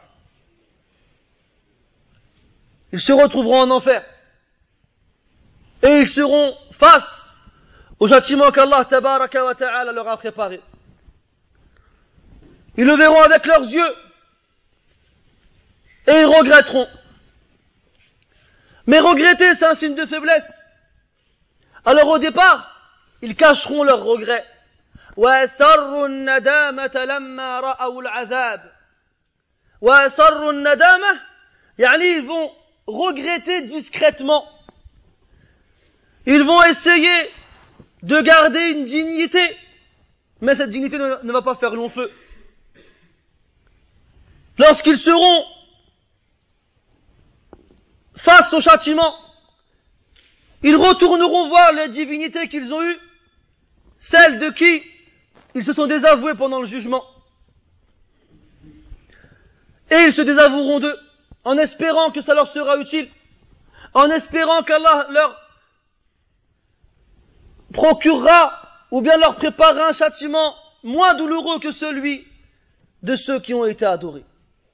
Ils se retrouveront en enfer. Et ils seront face au châtiment qu'Allah tabaraka wa ta'ala leur a préparé. Ils le verront avec leurs yeux et ils regretteront. Mais regretter, c'est un signe de faiblesse. Alors au départ, ils cacheront leurs regrets. وَأَسَرُّوا النَّدَامَةَ لَمَّا رَأَوُا الْعَذَابَ وَأَسَرُّوا النَّدَامَةَ يعني ils vont regretter discrètement. Ils vont essayer de garder une dignité, mais cette dignité ne va pas faire long feu. Lorsqu'ils seront face au châtiment, ils retourneront voir les divinités qu'ils ont eues, celles de qui ils se sont désavoués pendant le jugement. Et ils se désavoueront d'eux, en espérant que ça leur sera utile, en espérant qu'Allah leur procurera ou bien leur préparera un châtiment moins douloureux que celui de ceux qui ont été adorés.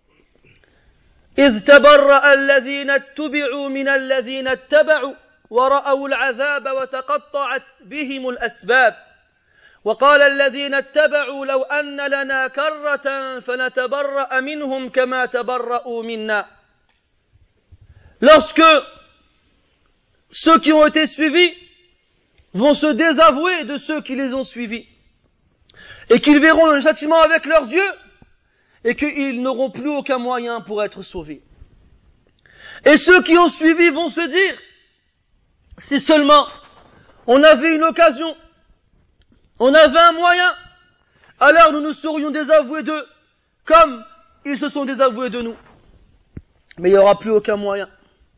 إذ تبرأ الذين اتبعوا من الذين اتبعوا ورأوا العذاب وتقطعت بهم الأسباب وقال الذين اتبعوا لو أن لنا كرة فنتبرأ منهم كما تبرأوا منا. Lorsque ceux qui ont été suivis vont se désavouer de ceux qui les ont suivis et qu'ils verront le châtiment avec leurs yeux et qu'ils n'auront plus aucun moyen pour être sauvés. Et ceux qui ont suivi vont se dire, si seulement on avait une occasion, on avait un moyen, alors nous nous serions désavoués d'eux, comme ils se sont désavoués de nous. Mais il n'y aura plus aucun moyen,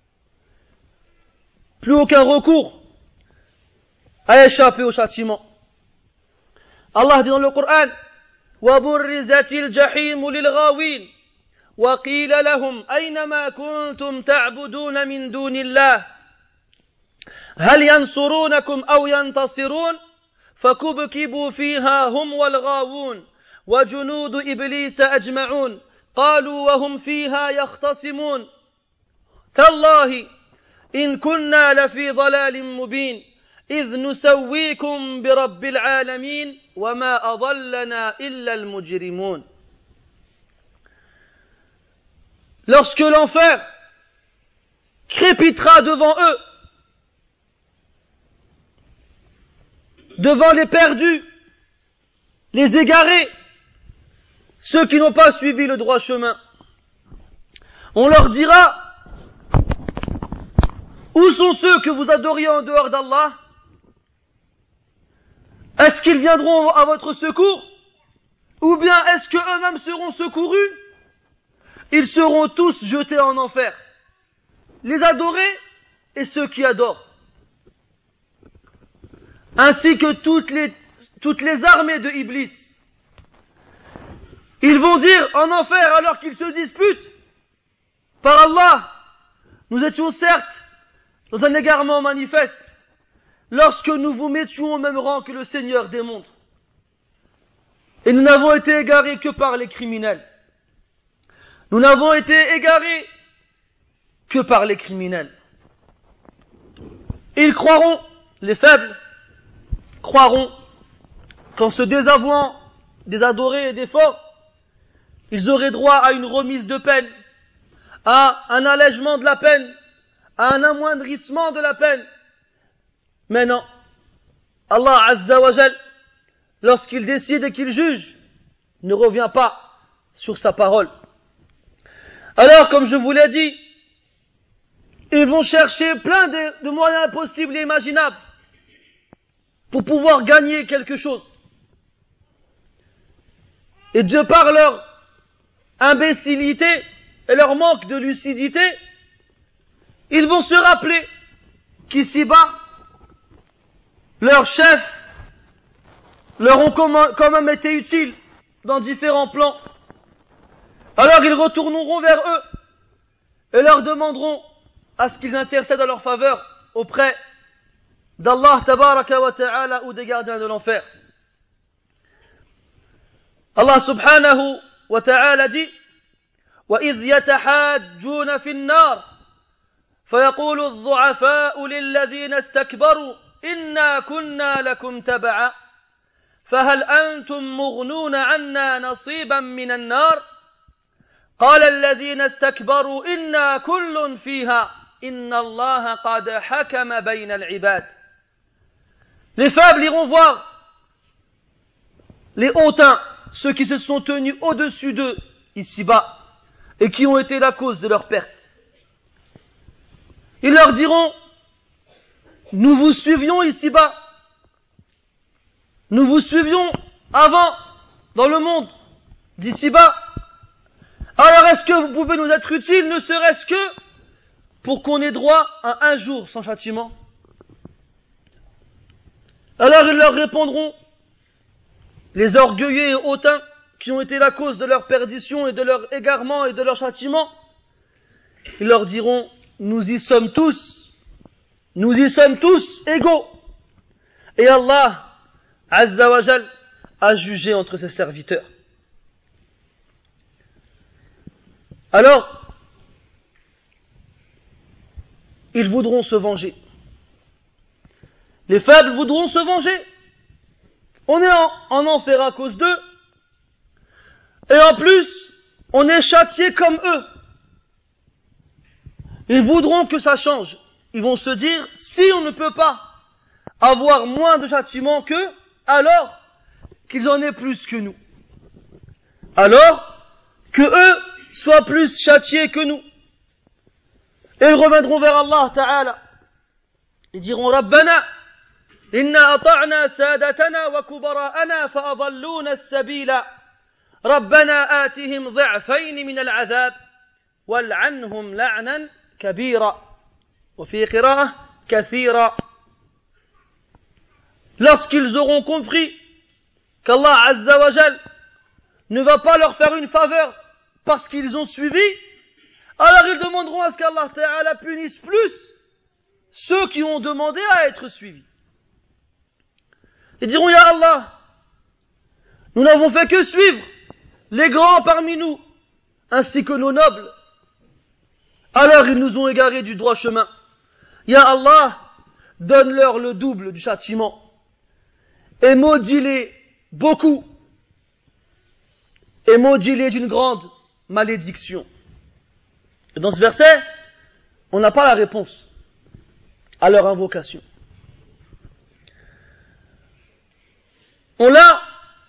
plus aucun recours à échapper au châtiment. Allah dit dans le Coran, وَبُرِّزَتِ الْجَحِيمُ لِلْغَاوِينَ وَقِيلَ لَهُمْ أَيْنَمَا كُنْتُمْ تَعْبُدُونَ مِنْ دُونِ اللَّهِ هَلْ يَنْصُرُونَكُمْ أَوْ يَنْتَصِرُونَ فَكُبْكِبُوا فِيهَا هُمْ وَالْغَاوُونَ وَجُنُودُ إِبْلِيسَ أَجْمَعُونَ قَالُوا وَهُمْ فِيهَا يَخْتَصِمُونَ تَاللَّهِ إِنْ كُنَّا لَفِي ضَلَالٍ مُبِينٍ إذ نسويكم برب العالمين وما أضلنا إلا المجرمون. Lorsque l'enfer crépitera devant eux, devant les perdus, les égarés, ceux qui n'ont pas suivi le droit chemin, on leur dira, où sont ceux que vous adoriez en dehors d'Allah? Est-ce qu'ils viendront à votre secours? Ou bien est-ce qu'eux-mêmes seront secourus? Ils seront tous jetés en enfer. les adorés et ceux qui adorent. Ainsi que toutes les armées de Iblis. Ils vont dire en enfer alors qu'ils se disputent. Par Allah, nous étions certes dans un égarement manifeste lorsque nous vous mettions au même rang que le Seigneur des mondes. Et nous n'avons été égarés que par les criminels. Nous n'avons été égarés que par les criminels. Ils croiront, les faibles, croiront qu'en se désavouant des adorés et des forts, ils auraient droit à une remise de peine, à un allègement de la peine, à un amoindrissement de la peine. Mais non, Allah Azza wa Jal, lorsqu'il décide et qu'il juge, ne revient pas sur sa parole. Alors, comme je vous l'ai dit, ils vont chercher plein de moyens possibles et imaginables pour pouvoir gagner quelque chose. Et de par leur imbécilité et leur manque de lucidité, ils vont se rappeler qu'ici-bas, leurs chefs leur ont quand même été utiles dans différents plans. Alors ils retourneront vers eux et leur demanderont à ce qu'ils intercèdent en leur faveur auprès d'Allah tabaraka wa ta'ala ou des gardiens de l'enfer. Allah subhanahu wa ta'ala dit وَإِذْ يَتَحَاجُّونَ فِي النَّارِ فَيَقُولُ الضُّعَفَاءُ لِلَّذِينَ اسْتَكْبَرُوا إِنَّا كُنَّا لَكُمْ تَبَعًا فَهَلْ أَنْتُمْ مُغْنُونَ عَنَّا نَصِيبًا مِنَ النَّارِ قال الذين استكبروا إنا كل فيها إن الله قد حكم بين العباد. Les faibles iront voir les hautains, ceux qui se sont tenus au-dessus d'eux ici-bas et qui ont été la cause de leur perte. Ils leur diront, nous vous suivions ici-bas, nous vous suivions avant dans le monde d'ici-bas. Alors est-ce que vous pouvez nous être utiles, ne serait-ce que pour qu'on ait droit à un jour sans châtiment? Alors ils leur répondront, les orgueilleux et hautains qui ont été la cause de leur perdition et de leur égarement et de leur châtiment, ils leur diront, nous y sommes tous égaux. Et Allah, Azza wa Jal, a jugé entre ses serviteurs. Alors, ils voudront se venger. Les faibles voudront se venger. On est en enfer à cause d'eux. Et en plus, on est châtié comme eux. Ils voudront que ça change. Ils vont se dire, si on ne peut pas avoir moins de châtiment qu'eux, alors qu'ils en aient plus que nous. Alors que eux soient plus châtiés que nous. Et ils reviendront vers Allah Ta'ala. Ils diront, Rabbana, inna ata'na sadatana wa kubara'ana fa'adalluna as-sabila. Rabbana atihim ضعفين min al-'adhab wal'anhum la'nan kabira. Wa fi qira'ah kathira. Lorsqu'ils auront compris qu'Allah Azza wa Jal ne va pas leur faire une faveur parce qu'ils ont suivi, alors ils demanderont à ce qu'Allah Ta'ala punisse plus ceux qui ont demandé à être suivis. Ils diront, Ya Allah, nous n'avons fait que suivre les grands parmi nous, ainsi que nos nobles. Alors ils nous ont égarés du droit chemin. Ya Allah, donne-leur le double du châtiment et maudis-les beaucoup et maudis-les d'une grande malédiction. Et dans ce verset, on n'a pas la réponse à leur invocation. On a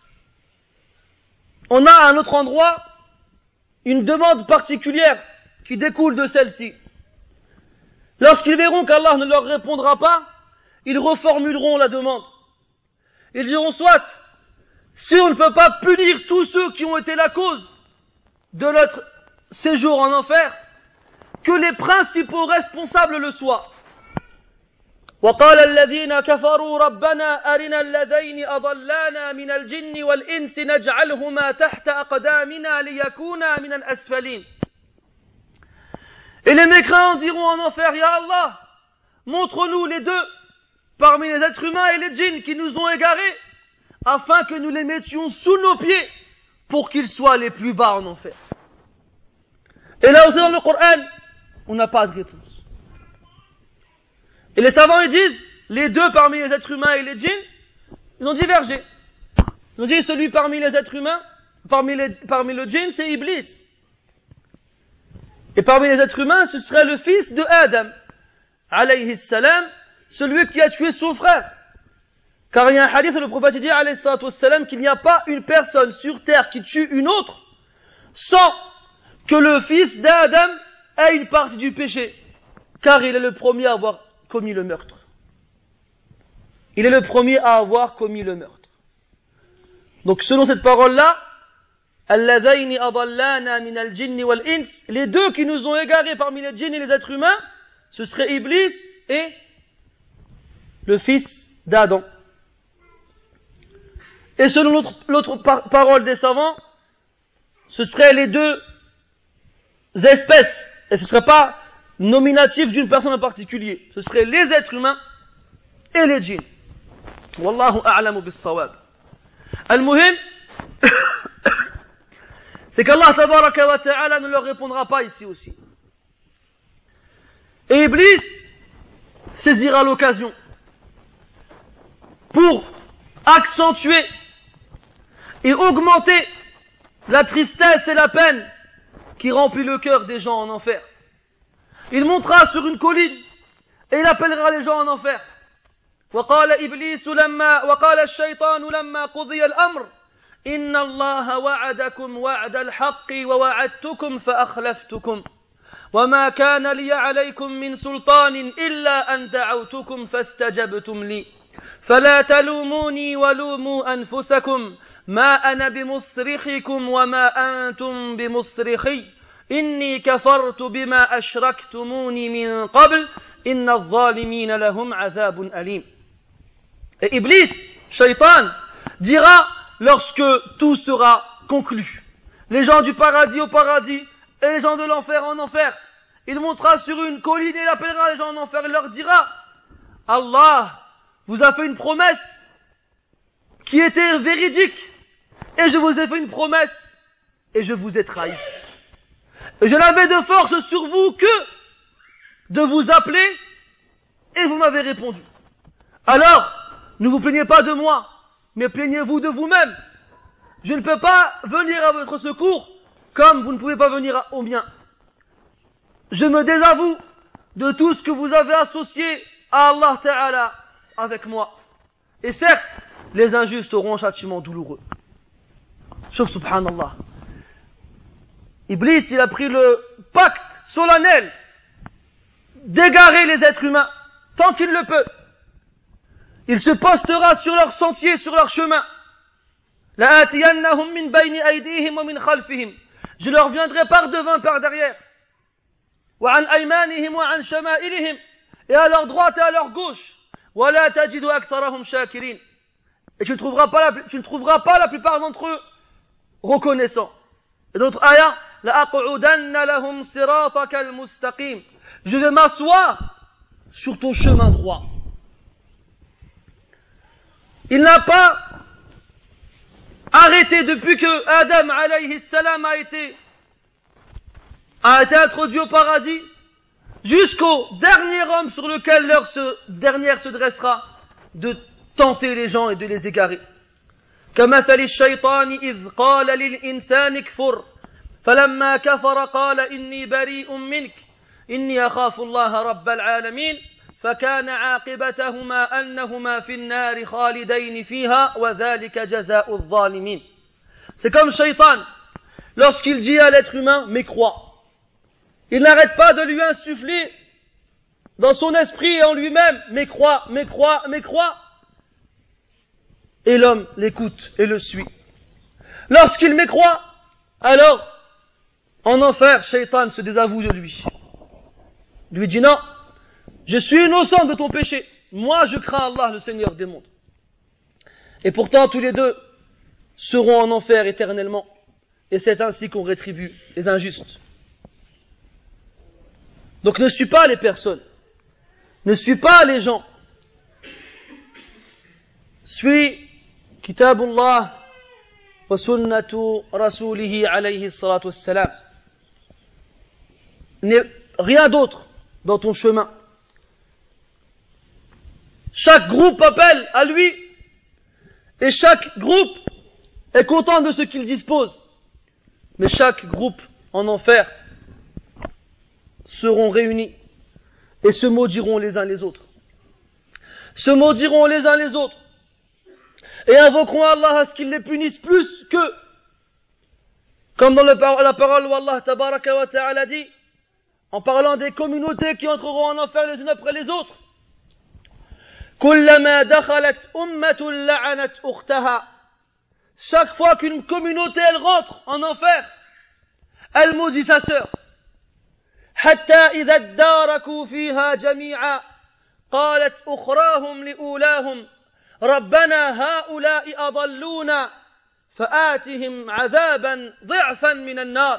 à un autre endroit une demande particulière qui découle de celle-ci. Lorsqu'ils verront qu'Allah ne leur répondra pas, ils reformuleront la demande. Ils diront, soit, si on ne peut pas punir tous ceux qui ont été la cause de notre séjour en enfer, que les principaux responsables le soient. وقال الذين كفروا ربنا أرنا الذين أضلانا من الجن والإنس نجعلهما تحت أقدامنا ليكونا من الأسفلين. Et les mécréants diront en enfer, Ya Allah, montre-nous les deux parmi les êtres humains et les djinns qui nous ont égarés, afin que nous les mettions sous nos pieds pour qu'ils soient les plus bas en enfer. Et là aussi dans le Coran, on n'a pas de réponse. Et les savants ils disent, les deux parmi les êtres humains et les djinns, ils ont divergé. Ils ont dit celui parmi les êtres humains, parmi le djinn, c'est Iblis. Et parmi les êtres humains, ce serait le fils de Adam, alayhi salam, celui qui a tué son frère. Car il y a un hadith où le prophète dit, alayhi salam, qu'il n'y a pas une personne sur terre qui tue une autre, sans que le fils d'Adam ait une partie du péché. Car il est le premier à avoir commis le meurtre. Il est le premier à avoir commis le meurtre. Donc selon cette parole-là, Alladhayni adallana min al-jinni wal-ins, les deux qui nous ont égarés parmi les djinns et les êtres humains, ce serait Iblis et le fils d'Adam. Et selon l'autre parole des savants, ce seraient les deux espèces, et ce ne serait pas nominatif d'une personne en particulier, ce seraient les êtres humains et les djinns. Wallahu a'lamu bis-sawab. Al-muhim, c'est qu'Allah tabaraka wa ta'ala ne leur répondra pas ici aussi. Et Iblis saisira l'occasion pour accentuer et augmenter la tristesse et la peine qui remplit le cœur des gens en enfer. Il montera sur une colline et il appellera les gens en enfer. وقال الشيطان لما قضي الأمر إن الله وعدكم وعد الحق ووعدتكم فأخلفتكم وما كان لي عليكم من سلطان إلا أن دعوتكم فاستجبتم لي فلا تلوموني ولوموا أنفسكم ما أنا بمصرخكم وما أنتم بمصرخي إني كفرت بما أشركتموني من قبل إن الظالمين لهم عذاب أليم. Et Iblis, Shaitan, dira lorsque tout sera conclu, les gens du paradis au paradis et les gens de l'enfer en enfer, il montera sur une colline et il appellera les gens en enfer, il leur dira, Allah vous a fait une promesse qui était véridique et je vous ai fait une promesse et je vous ai trahi. Et je n'avais de force sur vous que de vous appeler et vous m'avez répondu. Alors, ne vous plaignez pas de moi, mais plaignez-vous de vous-même. Je ne peux pas venir à votre secours comme vous ne pouvez pas venir au mien. Je me désavoue de tout ce que vous avez associé à Allah Ta'ala avec moi. Et certes, les injustes auront un châtiment douloureux. Sauf subhanallah. Iblis, il a pris le pacte solennel d'égarer les êtres humains tant qu'il le peut. Il se postera sur leur sentier, sur leur chemin. لَآتِيَنَّهُمْ مِنْ بَيْنِ أَيْدِيهِمْ وَمِنْ خَلْفِهِمْ. Je leur viendrai par devant, par derrière. وَعَنْ أَيْمَانِهِمْ وَعَنْ شَمَائِلِهِمْ. Et à leur droite et à leur gauche. وَلَا تَجِدُ أَكْثَرَهُمْ شَاكِرِينَ. Et tu ne trouveras pas la plupart d'entre eux reconnaissants. Et d'autres ayats, لَأَقْعُدَنَّ لَهُمْ صِرَاطَكَ الْمُسْتَقِيمِ. Je vais m'asseoir sur ton chemin droit. Il n'a pas arrêté depuis que Adam alayhi salam a été introduit au paradis jusqu'au dernier homme sur lequel l'heure dernière se dressera de tenter les gens et de les égarer. كمثل الشيطان إذ قال للإنسان كفر فلما كفر قال إني بريء منك إني أخاف الله رب العالمين فكان عاقبتهما أنهما في النار خالدين فيها وذلك جزاء الظالمين. C'est comme Shaitan, lorsqu'il dit à l'être humain, mais crois. Il n'arrête pas de lui insuffler dans son esprit et en lui-même, mais crois, mais crois, mais crois. Et l'homme l'écoute et le suit. Lorsqu'il mécroit, alors, en enfer, Shaitan se désavoue de lui. lui dit non, je suis innocent de ton péché. Moi, je crains Allah, le Seigneur des mondes. Et pourtant, tous les deux seront en enfer éternellement. Et c'est ainsi qu'on rétribue les injustes. Donc ne suis pas les personnes. Ne suis pas les gens. Suis Kitabullah wa sunnatu rasulihi alayhi salatu wassalam. N'est rien d'autre dans ton chemin. Chaque groupe appelle à lui et chaque groupe est content de ce qu'il dispose. Mais chaque groupe en enfer seront réunis et se maudiront les uns les autres. Se maudiront les uns les autres et invoqueront Allah à ce qu'il les punisse plus qu'eux. Comme dans la parole où Allah tabaraka wa ta'ala dit, en parlant des communautés qui entreront en enfer les unes après les autres, كلما دخلت أمة لعنت أختها. Chaque fois qu'une communauté elle rentre en enfer, elle maudit sa sœur. حتى إذا اداركوا فيها جميعا قالت أخراهم لأولاهم ربنا هؤلاء أضلونا فآتهم عذابا ضعفا من النار.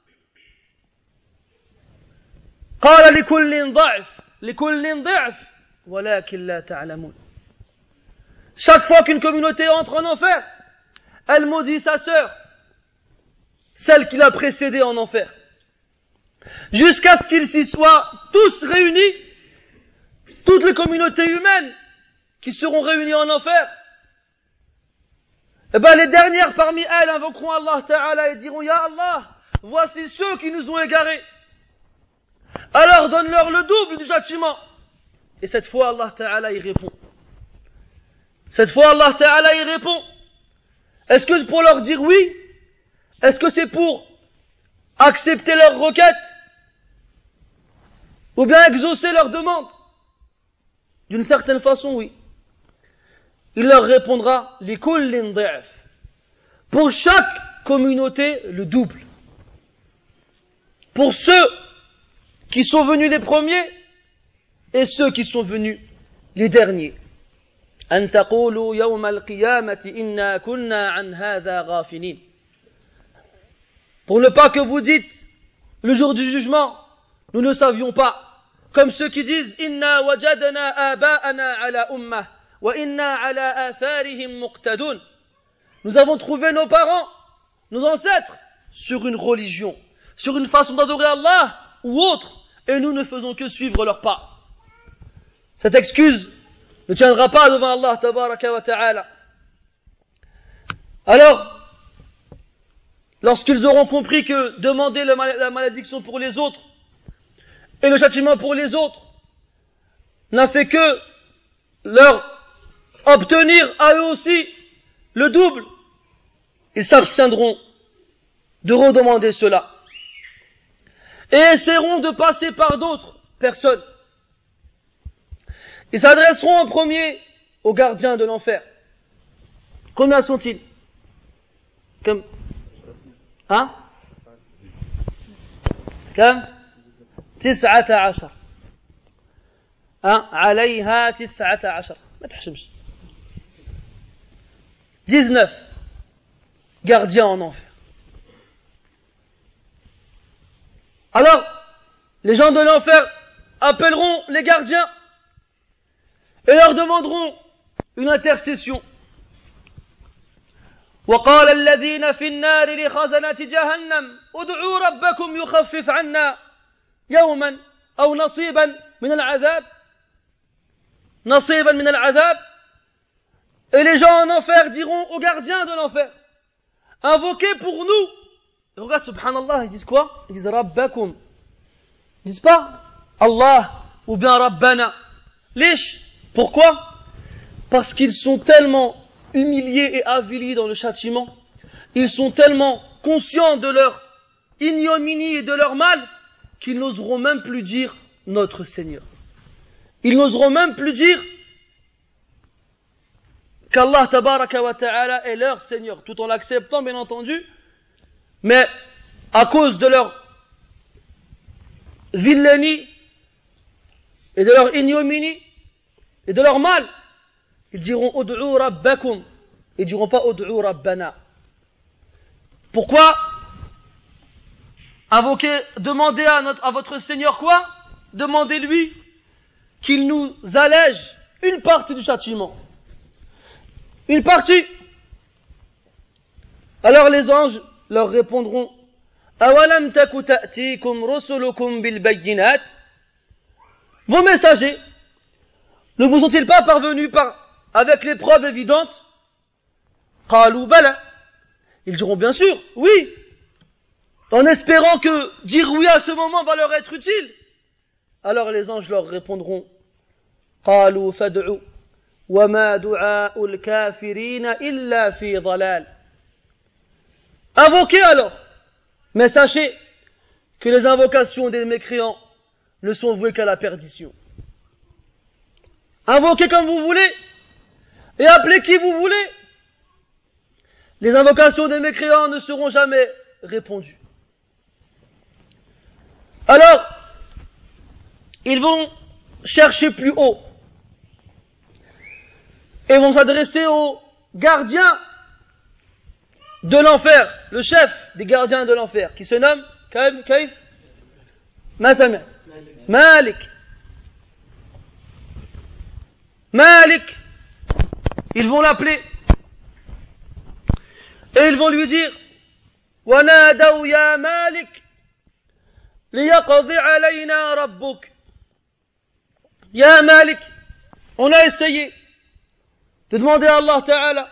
قال لكل ضعف ولكن لا تعلمون. Chaque fois qu'une communauté entre en enfer, elle maudit sa sœur, celle qui l'a précédée en enfer, jusqu'à ce qu'ils s'y soient tous réunis, toutes les communautés humaines qui seront réunies en enfer. Et les dernières parmi elles invoqueront Allah Ta'ala et diront, Ya Allah, voici ceux qui nous ont égarés. Alors donne-leur le double du châtiment. Et cette fois Allah Ta'ala y répond. Cette fois Allah Ta'ala y répond. Est-ce que c'est pour leur dire oui? Est-ce que c'est pour accepter leurs requêtes? Ou bien exaucer leurs demandes? D'une certaine façon, oui. Il leur répondra لِكُلٍّ ضِعْفٍ. Pour chaque communauté, le double. Pour ceux qui sont venus les premiers et ceux qui sont venus les derniers. أن تقولوا يوم القيامة إنا كنا عن هذا غافلين. Pour ne pas que vous dites le jour du jugement, nous ne savions pas. Comme ceux qui disent إنا وجدنا آباءنا على أمة وإنا على آثارهم مقتدون. Nous avons trouvé nos parents, nos ancêtres, sur une religion, sur une façon d'adorer Allah ou autre, et nous ne faisons que suivre leurs pas. Cette excuse ne tiendra pas devant Allah tabaraka wa ta'ala. Alors, lorsqu'ils auront compris que demander la malédiction pour les autres et le châtiment pour les autres n'a fait que leur obtenir à eux aussi le double, ils s'abstiendront de redemander cela et essaieront de passer par d'autres personnes. Ils s'adresseront en premier aux gardiens de l'enfer. Combien sont-ils? Comme 19. عليها 19. ما تحشمش. 19 gardiens en enfer. Alors, les gens de l'enfer appelleront les gardiens et leur demanderont une intercession. وقال الذين في النار لخزنة جهنم ادعوا ربكم يخفف عنا يوما أو نصيبا من العذاب. Et les gens en enfer diront aux gardiens de l'enfer, invoquez pour nous. Et regarde, subhanallah, ils disent quoi? Ils disent Rabbakum. Ils disent pas Allah ou bien Rabbana. Lish. Pourquoi? Parce qu'ils sont tellement humiliés et avilis dans le châtiment, ils sont tellement conscients de leur ignominie et de leur mal, qu'ils n'oseront même plus dire notre Seigneur. Ils n'oseront même plus dire qu'Allah tabaraka wa ta'ala est leur Seigneur, tout en l'acceptant bien entendu, mais à cause de leur vilainie et de leur ignominie et de leur mal, ils diront ud'u rabbakum, ils diront pas ud'u rabbana. Pourquoi invoquer, demander à votre Seigneur quoi? Demandez-lui qu'il nous allège une partie du châtiment. Une partie. Alors les anges leur répondront awalam taku ta'tikum rusulukum bil bayyinat, vos messagers ne vous sont-ils pas parvenus avec les preuves évidentes? Qalu bala, ils diront bien sûr, oui, en espérant que dire oui à ce moment va leur être utile. Alors les anges leur répondront qalu fad'u wa ma du'a'ul kafirina illa fi dhalal. Invoquez alors, mais sachez que les invocations des mécréants ne sont vouées qu'à la perdition. Invoquez comme vous voulez et appelez qui vous voulez. Les invocations des mécréants ne seront jamais répondues. Alors, ils vont chercher plus haut et vont s'adresser aux gardiens de l'enfer, le chef des gardiens de l'enfer, qui se nomme Kaif Masami Malik. Malik. Ils vont l'appeler et ils vont lui dire وَنَادَوْا يَا مَالِكْ لِيَقْضِ عَلَيْنَا رَبُّكَ. Ya Malik, on a essayé de demander à Allah Ta'ala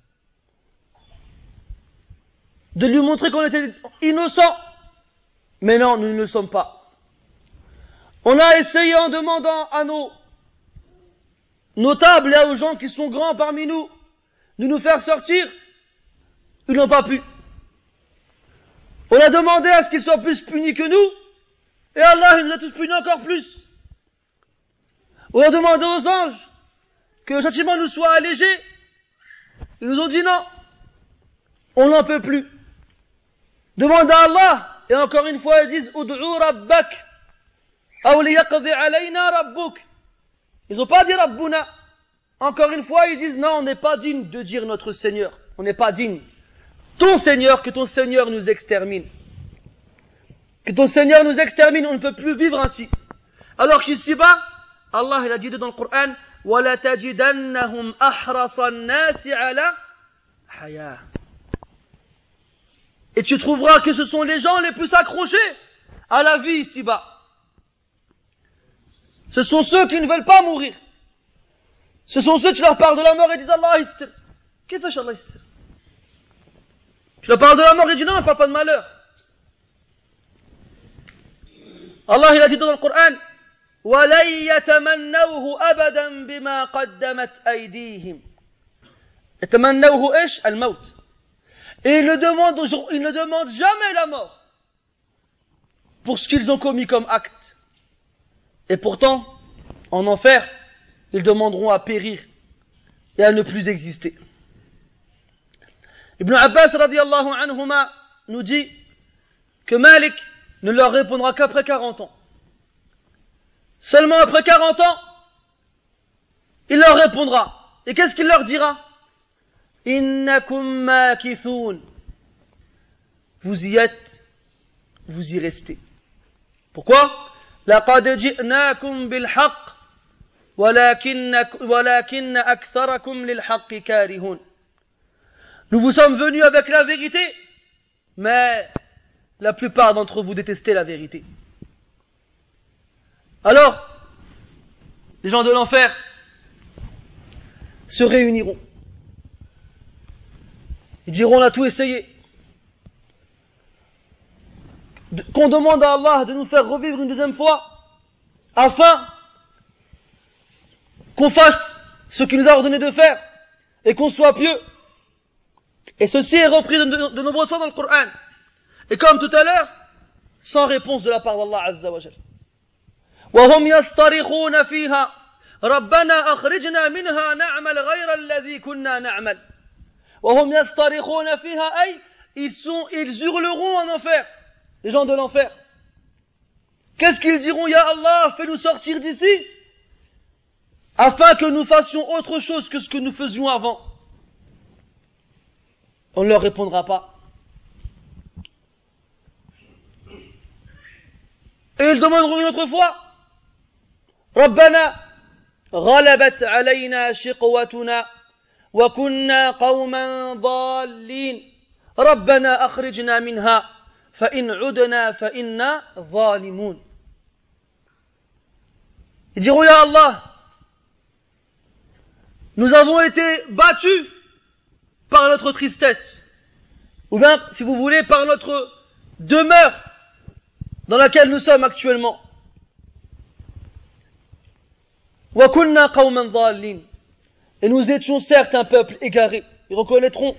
de lui montrer qu'on était innocent, mais non, nous ne le sommes pas. On a essayé en demandant à nos notables et aux gens qui sont grands parmi nous de nous faire sortir, ils n'ont pas pu. On a demandé à ce qu'ils soient plus punis que nous, et Allah il nous a tous punis encore plus. On a demandé aux anges que le châtiment nous soit allégé, ils nous ont dit non, on n'en peut plus. Demande à Allah, et encore une fois ils disent ud'u rabbak aw liyaqdi alayna rabbuk. Ils n'ont pas dit rabbuna. Encore une fois ils disent non, on n'est pas digne de dire notre Seigneur, on n'est pas digne. Ton Seigneur, que ton Seigneur nous extermine. Que ton Seigneur nous extermine, on ne peut plus vivre ainsi. Alors qu'ici-bas, Allah il a dit dans le Coran وَلَتَجِدَنَّهُمْ أَحْرَصَ النَّاسِ عَلَى حَيَاةٍ. Et tu trouveras que ce sont les gens les plus accrochés à la vie ici-bas. Ce sont ceux qui ne veulent pas mourir. Ce sont ceux qui leur parlent de la mort et disent Allah yissir. Qu'est-ce que fait Allah yissir? Tu leur parles de la mort et dis non, ne parle pas de malheur. Allah il a dit dans le Coran وَلَنْ يَتَمَنَّوْهُ أَبَدًا بِمَا قَدَّمَتْ أَيْدِيهِمْ. يَتَمَنَّوْهُ إيش؟ الموت. Et ils ne demandent jamais la mort pour ce qu'ils ont commis comme acte. Et pourtant, en enfer, ils demanderont à périr et à ne plus exister. Ibn Abbas radiyallahu anhuma nous dit que Malik ne leur répondra qu'après 40 ans. Seulement après 40 ans, il leur répondra. Et qu'est-ce qu'il leur dira? Innakum makithun. Vous y êtes, vous y restez. Pourquoi? Laqad ji'nakum bil haqq walakin aktharakum lil haqqi karihun. Nous vous sommes venus avec la vérité, mais la plupart d'entre vous détestez la vérité. Alors, les gens de l'enfer se réuniront. Ils diront on a tout essayé. Qu'on demande à Allah de nous faire revivre une deuxième fois, afin qu'on fasse ce qu'il nous a ordonné de faire, et qu'on soit pieux. Et ceci est repris de nombreuses fois dans le Coran. Et comme tout à l'heure, sans réponse de la part d'Allah Azza wa Jal. وهم يصطرخون فيها ربنا أخرجنا منها نعمل غير الذي كنا نعمل. وهم يصطرخون فيها أي ils hurleront en enfer, les gens de l'enfer. qu'est-ce qu'ils diront? Ya Allah, fais-nous sortir d'ici, afin que nous fassions autre chose que ce que nous faisions avant. On ne leur répondra pas. Et ils demanderont une autre fois, Rabbana, غلبت علينا شقوتنا وكنا قوما ضالين ربنا أخرجنا منها فإن عدنا فإنا ظالمون. Ils diront, Ya Allah, nous avons été battus par notre tristesse, ou bien, si vous voulez, par notre demeure dans laquelle nous sommes actuellement. وَكُنَّا قَوْمًا ضَالِّينَ. Et nous étions certes un peuple égaré. Ils reconnaîtront.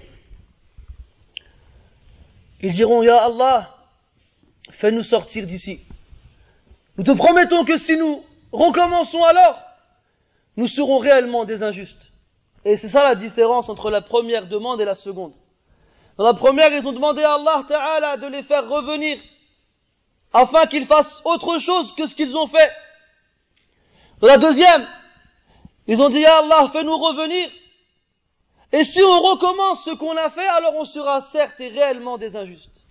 Ils diront, Ya Allah, fais-nous sortir d'ici. Nous te promettons que si nous recommençons alors, nous serons réellement des injustes. Et c'est ça la différence entre la première demande et la seconde. Dans la première, ils ont demandé à Allah Ta'ala de les faire revenir afin qu'ils fassent autre chose que ce qu'ils ont fait. Dans la deuxième, ils ont dit, Ya Allah, fais-nous revenir. Et si on recommence ce qu'on a fait, alors on sera certes et réellement des injustes.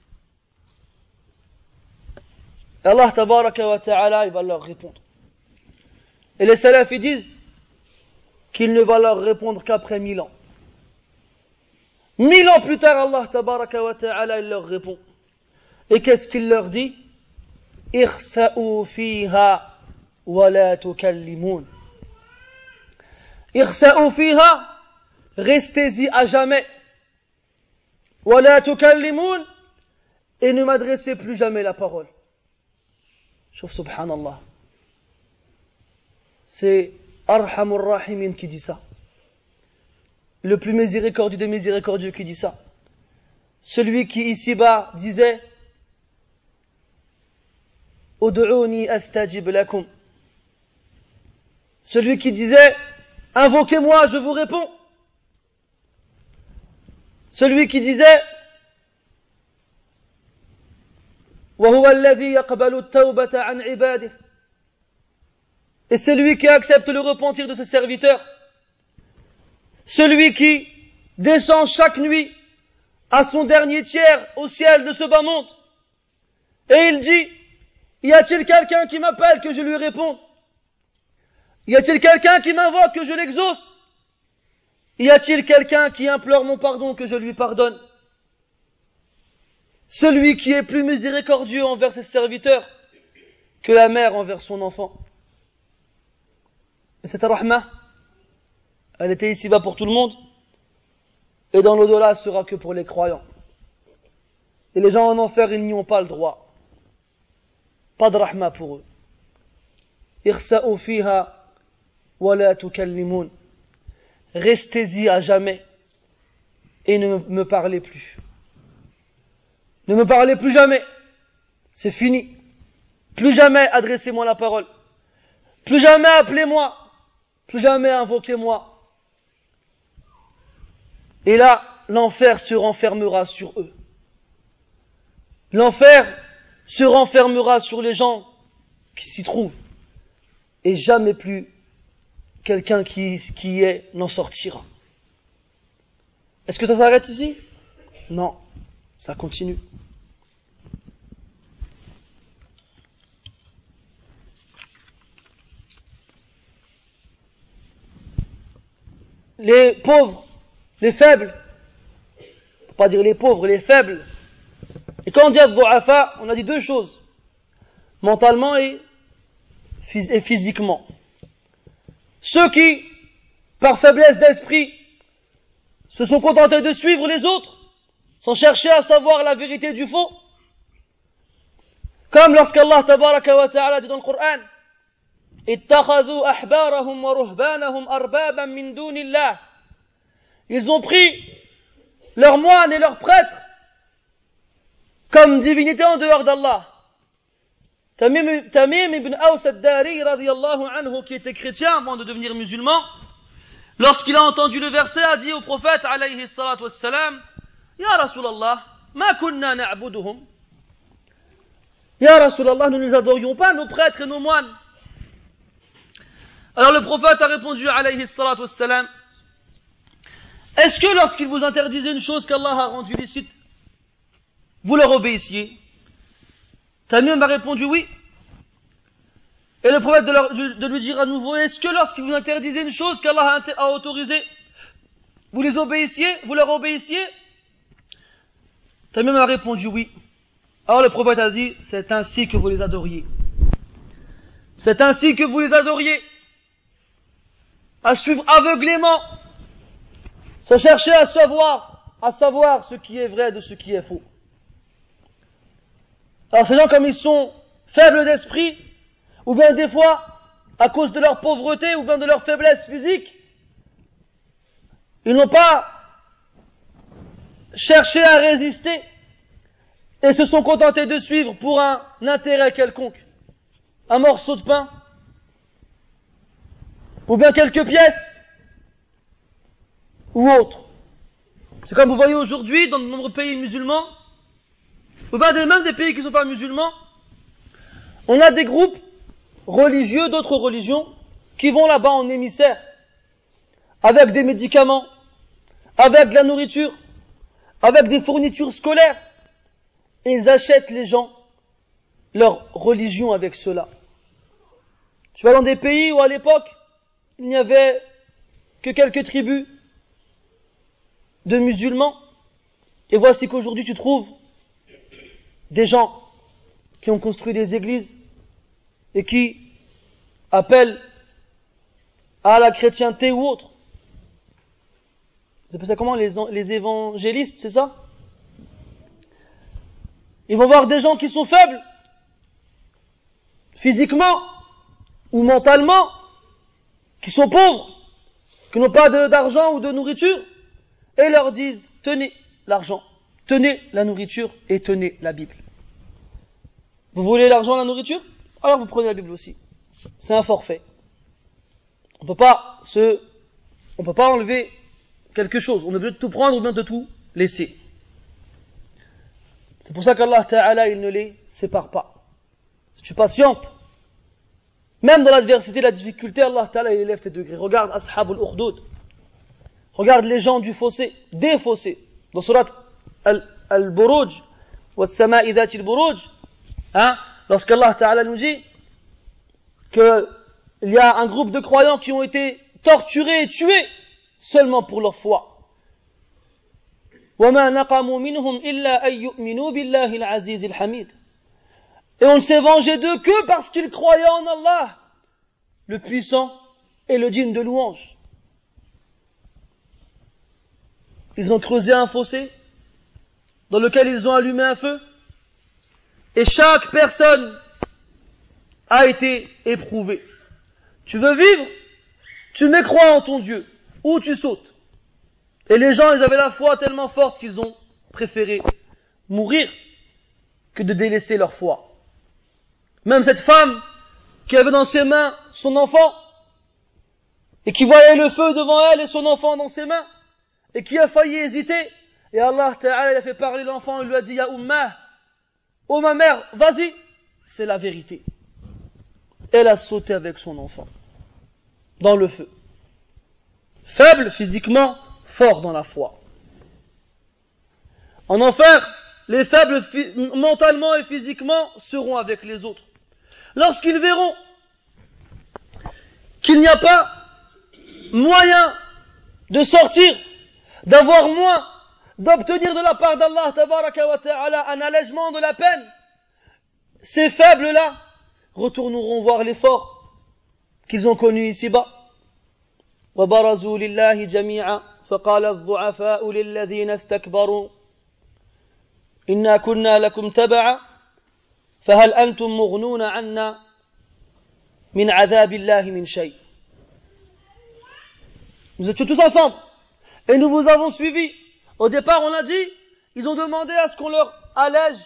Et Allah Tabaraka wa Ta'ala, il va leur répondre. Et les salafs, ils disent qu'il ne va leur répondre qu'après 1000 ans. 1000 ans plus tard, Allah Tabaraka wa Ta'ala, il leur répond. Et qu'est-ce qu'il leur dit? Ikhsa'u fiha وَلَا تُكَلِّمُونَ. Ikhsa'u fiha, restez-y à jamais. وَلَا تُكَلِّمُونَ, et ne m'adressez plus jamais la parole. Chouf, subhanallah. C'est Arhamur Rahimin qui dit ça. Le plus miséricordieux des miséricordieux qui dit ça. Celui qui ici-bas disait Ud'uni astajib lakum. Celui qui disait, invoquez-moi, je vous réponds. Celui qui disait, وَهُوَ الَّذِي يَقْبَلُ التَّوْبَةَ عَنْ عِبَادِهِ. Et celui qui accepte le repentir de ses serviteurs. Celui qui descend chaque nuit à son dernier tiers au ciel de ce bas monde. Et il dit, y a-t-il quelqu'un qui m'appelle que je lui réponde? Y a-t-il quelqu'un qui m'invoque que je l'exauce? Y a-t-il quelqu'un qui implore mon pardon que je lui pardonne? Celui qui est plus miséricordieux envers ses serviteurs que la mère envers son enfant. Et cette rahma, elle était ici-bas pour tout le monde, et dans l'au-delà, ce sera que pour les croyants. Et les gens en enfer, ils n'y ont pas le droit. Pas de rahma pour eux. Ikhsa'u fiha wa la tukallimun. Restez-y à jamais et ne me parlez plus. Ne me parlez plus jamais. C'est fini. Plus jamais adressez-moi la parole. Plus jamais appelez-moi. Plus jamais invoquez-moi. Et là, l'enfer se renfermera sur eux. L'enfer se renfermera sur les gens qui s'y trouvent. Et jamais plus quelqu'un qui y est n'en sortira. Est-ce que ça s'arrête ici? Non, ça continue. Les pauvres, les faibles, faut pas dire les pauvres, les faibles. Et quand on dit ad-du'afa, on a dit deux choses, mentalement et physiquement. Ceux qui, par faiblesse d'esprit, se sont contentés de suivre les autres, sans chercher à savoir la vérité du faux. Comme lorsqu'Allah tabaraka wa ta'ala dit dans le Coran, ittakhadhu ahbarahum wa ruhbanahum arbaban min dunillah. Ils ont pris leurs moines et leurs prêtres comme divinité en dehors d'Allah. Tamim ibn Aws ad-Dari radiyallahu anhu, qui était chrétien avant de devenir musulman, lorsqu'il a entendu le verset, a dit au prophète alayhi salatu wassalam, Ya Rasulallah, ma kunna na'buduhum. Ya Rasulallah, nous ne les adorions pas, nos prêtres et nos moines. Alors le prophète a répondu, alayhi salatu wassalam, est-ce que lorsqu'ils vous interdisaient une chose qu'Allah a rendue licite, vous leur obéissiez? Tamim a répondu oui. Et le prophète de lui dire à nouveau, est-ce que lorsqu'ils vous interdisaient une chose qu'Allah a autorisée, vous les obéissiez, vous leur obéissiez? Tamim a répondu oui. Alors le prophète a dit, c'est ainsi que vous les adoriez. C'est ainsi que vous les adoriez. À suivre aveuglément, se chercher à savoir ce qui est vrai de ce qui est faux. Alors ces gens, comme ils sont faibles d'esprit, ou bien des fois, à cause de leur pauvreté, ou bien de leur faiblesse physique, ils n'ont pas cherché à résister, et se sont contentés de suivre pour un intérêt quelconque. Un morceau de pain, ou bien quelques pièces, ou autre. C'est comme vous voyez aujourd'hui dans de nombreux pays musulmans, ou bien même des pays qui ne sont pas musulmans, on a des groupes religieux d'autres religions qui vont là-bas en émissaire, avec des médicaments, avec de la nourriture, avec des fournitures scolaires, et ils achètent les gens leur religion avec cela. Tu vas dans des pays où à l'époque, il n'y avait que quelques tribus de musulmans, et voici qu'aujourd'hui tu trouves des gens qui ont construit des églises et qui appellent à la chrétienté ou autre. Vous appelez ça comment, les évangélistes, c'est ça? Ils vont voir des gens qui sont faibles, physiquement ou mentalement, qui sont pauvres, qui n'ont pas d'argent ou de nourriture, et leur disent, tenez l'argent, tenez la nourriture et tenez la Bible. Vous voulez l'argent et la nourriture? Alors vous prenez la Bible aussi. C'est un forfait. On peut pas enlever quelque chose. On est obligé de tout prendre ou bien de tout laisser. C'est pour ça qu'Allah Ta'ala, il ne les sépare pas. Si tu patientes, même dans l'adversité, la difficulté, Allah Ta'ala, il élève tes degrés. Regarde Ashabul Ukhdud. Regarde les gens du fossé, des fossés. Dans surat Al-Buruj, was-sama'i dhati al-buruj, lorsqu'Allah Ta'ala nous dit qu'il y a un groupe de croyants qui ont été torturés et tués seulement pour leur foi. وَمَا نَقَمُوا مِنْهُمْ إِلَّا أَن يُؤْمِنُوا بِاللَّهِ الْعَزِيزِ الْحَمِيدِ. Et on ne s'est vengé d'eux que parce qu'ils croyaient en Allah, le puissant et le digne de louange. Ils ont creusé un fossé dans lequel ils ont allumé un feu, et chaque personne a été éprouvée. Tu veux vivre? Tu mets croix en ton Dieu, ou tu sautes. Et les gens, ils avaient la foi tellement forte qu'ils ont préféré mourir que de délaisser leur foi. Même cette femme qui avait dans ses mains son enfant, et qui voyait le feu devant elle et son enfant dans ses mains, et qui a failli hésiter, et Allah Ta'ala, il a fait parler l'enfant, il lui a dit, Ya Ummah, oh ma mère, vas-y, c'est la vérité. Elle a sauté avec son enfant, dans le feu. Faible physiquement, fort dans la foi. En enfer, les faibles mentalement et physiquement seront avec les autres. Lorsqu'ils verront qu'il n'y a pas moyen de sortir, d'avoir moins, d'obtenir de la part d'Allah tabaraka wa ta'ala un allègement de la peine, ces faibles-là retourneront voir les forts qu'ils ont connus ici-bas. وَبَرَزُوا لِلَّهِ جَمِيعًا فَقَالَ الضُّعَفَاءُ لِلَّذِينَ اسْتَكْبَرُوا إِنَّا كُنَّا لَكُمْ تَبَعًا فَهَلْ أَنْتُمْ مُغْنُونَ عَنَّا مِنْ عَذَابِ اللَّهِ مِنْ شَيْءٍ. Nous étions tous ensemble et nous vous avons suivis. Au départ, on a dit, ils ont demandé à ce qu'on leur allège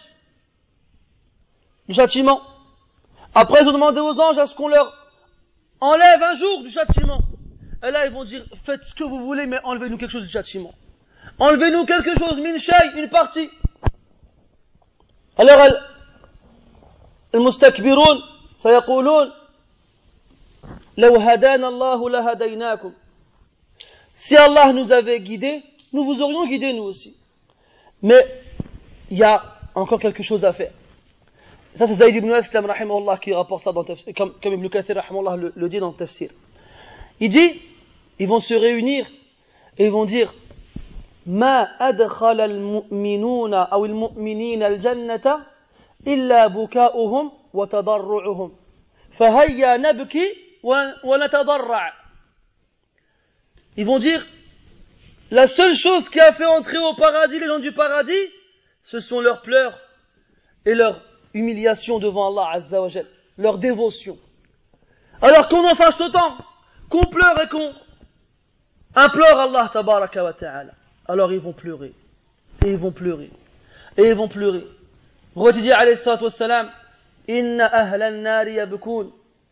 du châtiment. Après, ils ont demandé aux anges à ce qu'on leur enlève un jour du châtiment. Et là, ils vont dire, faites ce que vous voulez, mais enlevez-nous quelque chose du châtiment. Enlevez-nous quelque chose, min shay, une partie. Alors, المستكبرون سيقولون لو هدانا الله لهديناكم. Si Allah nous avait guidés, nous vous aurions guidés nous aussi. Mais il y a encore quelque chose à faire. Ça c'est Zayd ibn Aslam rahimahullah qui rapporte ça dans le tafsir, comme Ibn Kathir rahimahullah le dit dans le tafsir. Il dit, ils vont se réunir et ils vont dire ما أدخل المؤمنون أو المؤمنين الجنة إلا بكاؤهم وتضرعهم فهيا نبكي ونتضرع. Ils vont dire, la seule chose qui a fait entrer au paradis les gens du paradis, ce sont leurs pleurs et leur humiliation devant Allah Azza wa Jal, leur dévotion. Alors qu'on en fasse autant, qu'on pleure et qu'on implore Allah Tabaraka wa Ta'ala, alors ils vont pleurer, et ils vont pleurer, et ils vont pleurer. Prophète dit alayhi salatu wassalam, inna ahla an-nar yabkun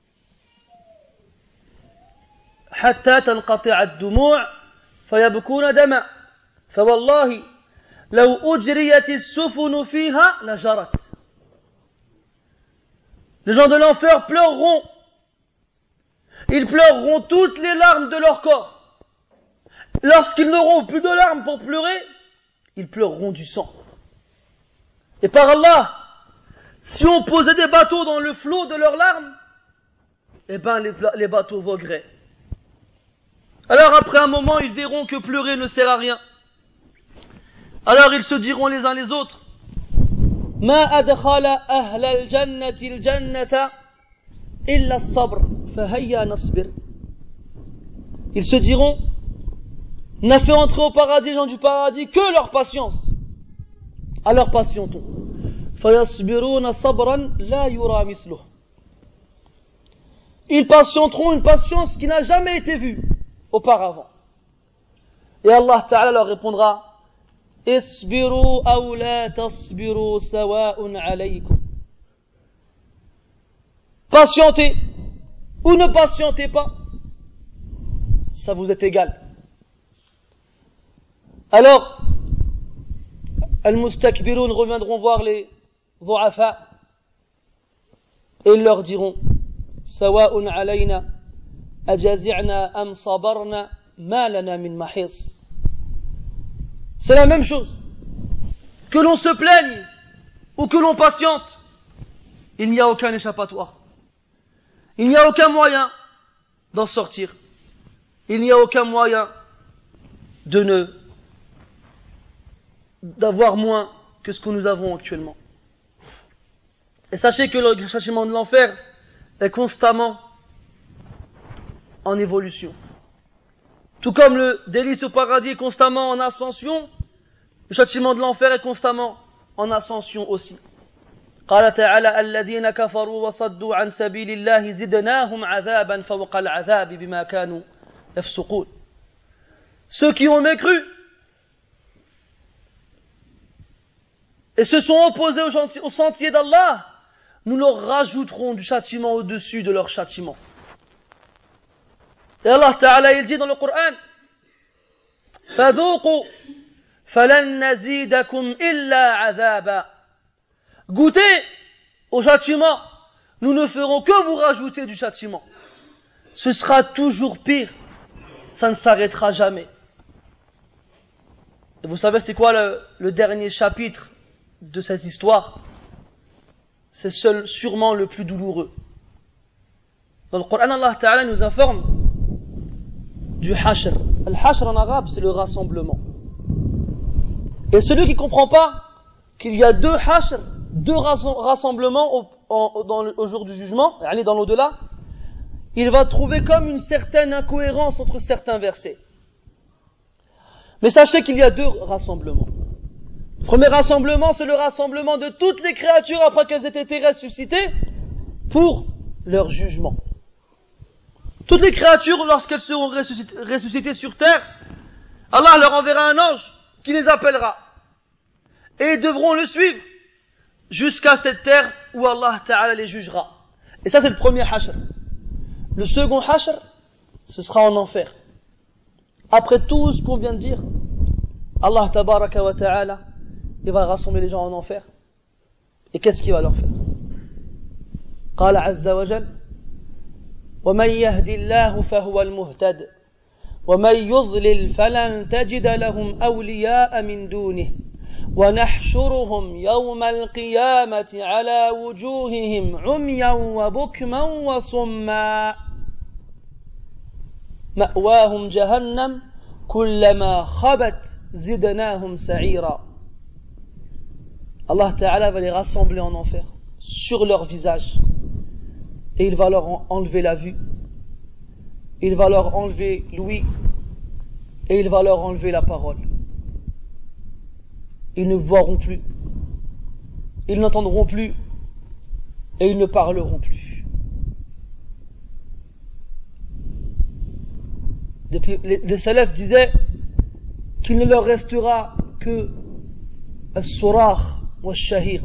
حتى تنقطع الدموع فيبكون دما فوالله لو أجريت السفن فيها لجرت. Les gens de l'enfer pleureront. Ils pleureront toutes les larmes de leur corps. Lorsqu'ils n'auront plus de larmes pour pleurer, ils pleureront du sang. Et par Allah, si on posait des bateaux dans le flot de leurs larmes, eh ben les bateaux vogueraient. Alors après un moment, ils verront que pleurer ne sert à rien. Alors ils se diront les uns les autres, ما أدخل أهل الجنة الجنة إلا الصبر فهيا نصبر. Ils se diront, n'a fait entrer au paradis les gens du paradis que leur patience. Alors patientons. فيصبرون صبرا لا يرى مثله. Ils patienteront une patience qui n'a jamais été vue auparavant. Et Allah Ta'ala leur répondra, Isbiru aw la tasbiru sawa'un alaykum. Patientez ou ne patientez pas, ça vous est égal. Alors, al-mustakbirun reviendront voir les du'afa et ils leur diront, sawa'un alayna أجازعنا أم صبرنا ما لنا من محيص. C'est la même chose. Que l'on se plaigne ou que l'on patiente, il n'y a aucun échappatoire. Il n'y a aucun moyen d'en sortir. Il n'y a aucun moyen d'avoir moins que ce que nous avons actuellement. Et sachez que le châtiment de l'enfer est constamment en évolution. Tout comme le délice au paradis est constamment en ascension, le châtiment de l'enfer est constamment en ascension aussi. قال تعالى الذين كفروا وصدوا عن سبيل الله زدناهم عذابا فوق العذاب بما كانوا يفسقون. Ceux qui ont mécru et se sont opposés au sentier d'Allah, nous leur rajouterons du châtiment au-dessus de leur châtiment. Et Allah Ta'ala il dit dans le Coran, فَذُوقُوا فَلَن نَّزِيدَكُمْ إِلَّا عَذَابًا. Goûtez au châtiment, nous ne ferons que vous rajouter du châtiment. Ce sera toujours pire, ça ne s'arrêtera jamais. Et vous savez c'est quoi le dernier chapitre de cette histoire? C'est sûrement le plus douloureux. Dans le Coran, Allah Ta'ala nous informe du hashr. Al-hashr en arabe, c'est le rassemblement. Et celui qui ne comprend pas qu'il y a deux hashr, deux rassemblements au jour du jugement, aller dans l'au-delà, il va trouver comme une certaine incohérence entre certains versets. Mais sachez qu'il y a deux rassemblements. Le premier rassemblement, c'est le rassemblement de toutes les créatures après qu'elles aient été ressuscitées pour leur jugement. Toutes les créatures, lorsqu'elles seront ressuscitées sur terre, Allah leur enverra un ange qui les appellera. Et ils devront le suivre jusqu'à cette terre où Allah Ta'ala les jugera. Et ça c'est le premier hashr. Le second hashr, ce sera en enfer. Après tout ce qu'on vient de dire, Allah Tabaraka wa Ta'ala, il va rassembler les gens en enfer. Et qu'est-ce qu'il va leur faire? قال عز وجل ومن يهد الله فهو المهتد ومن يضلل فلن تجد لهم أولياء من دونه ونحشرهم يوم القيامة على وجوههم عميا وبكما وصما مأواهم جهنم كلما خبت زدناهم سعيرا. Allah Ta'ala va les rassembler en enfer sur leur visage et il va leur enlever la vue, il va leur enlever l'ouïe et il va leur enlever la parole. Ils ne verront plus, ils n'entendront plus et ils ne parleront plus. Les salafs disaient qu'il ne leur restera que as-surah wa shahiq,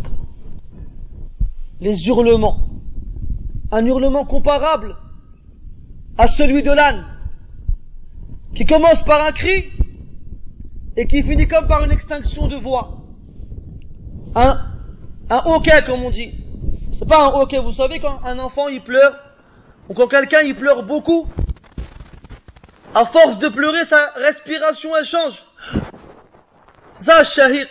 les hurlements, un hurlement comparable à celui de l'âne qui commence par un cri et qui finit comme par une extinction de voix, un hoquet comme on dit. C'est pas un hoquet, vous savez quand un enfant il pleure ou quand quelqu'un il pleure beaucoup, à force de pleurer sa respiration elle change. C'est ça shahiq.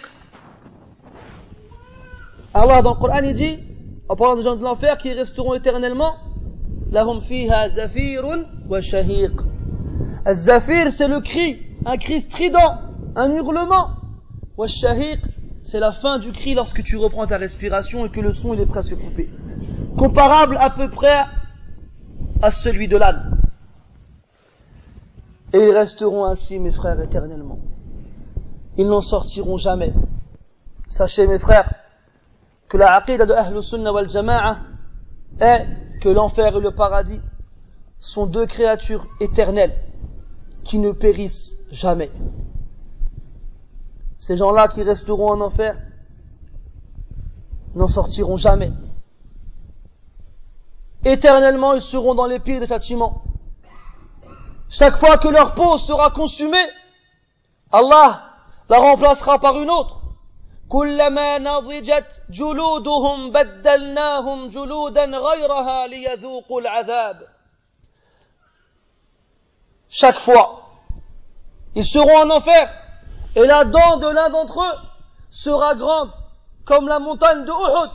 Allah dans le Coran il dit, en parlant des gens de l'enfer qui resteront éternellement, lahum fiha zafirun wa shahiq. Az-zafir c'est le cri, un cri strident, un hurlement. Wa shahiq c'est la fin du cri lorsque tu reprends ta respiration et que le son il est presque coupé. Comparable à peu près à celui de l'âne. Et ils resteront ainsi mes frères éternellement. Ils n'en sortiront jamais. Sachez mes frères que la aqida de Ahlus Sunnah wal Jama'a est que l'enfer et le paradis sont deux créatures éternelles qui ne périssent jamais. Ces gens-là qui resteront en enfer n'en sortiront jamais. Éternellement, ils seront dans les pires des châtiments. Chaque fois que leur peau sera consumée, Allah la remplacera par une autre. كلما نضجت جلودهم بدلناهم جلودا غيرها ليذوقوا العذاب. Chaque fois, ils seront en enfer et la dent de l'un d'entre eux sera grande comme la montagne de Uhud.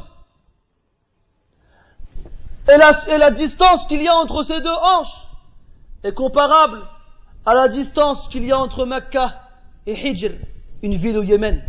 Et la distance qu'il y a entre ces deux hanches est comparable à la distance qu'il y a entre Mecca et Hijr, une ville au Yémen.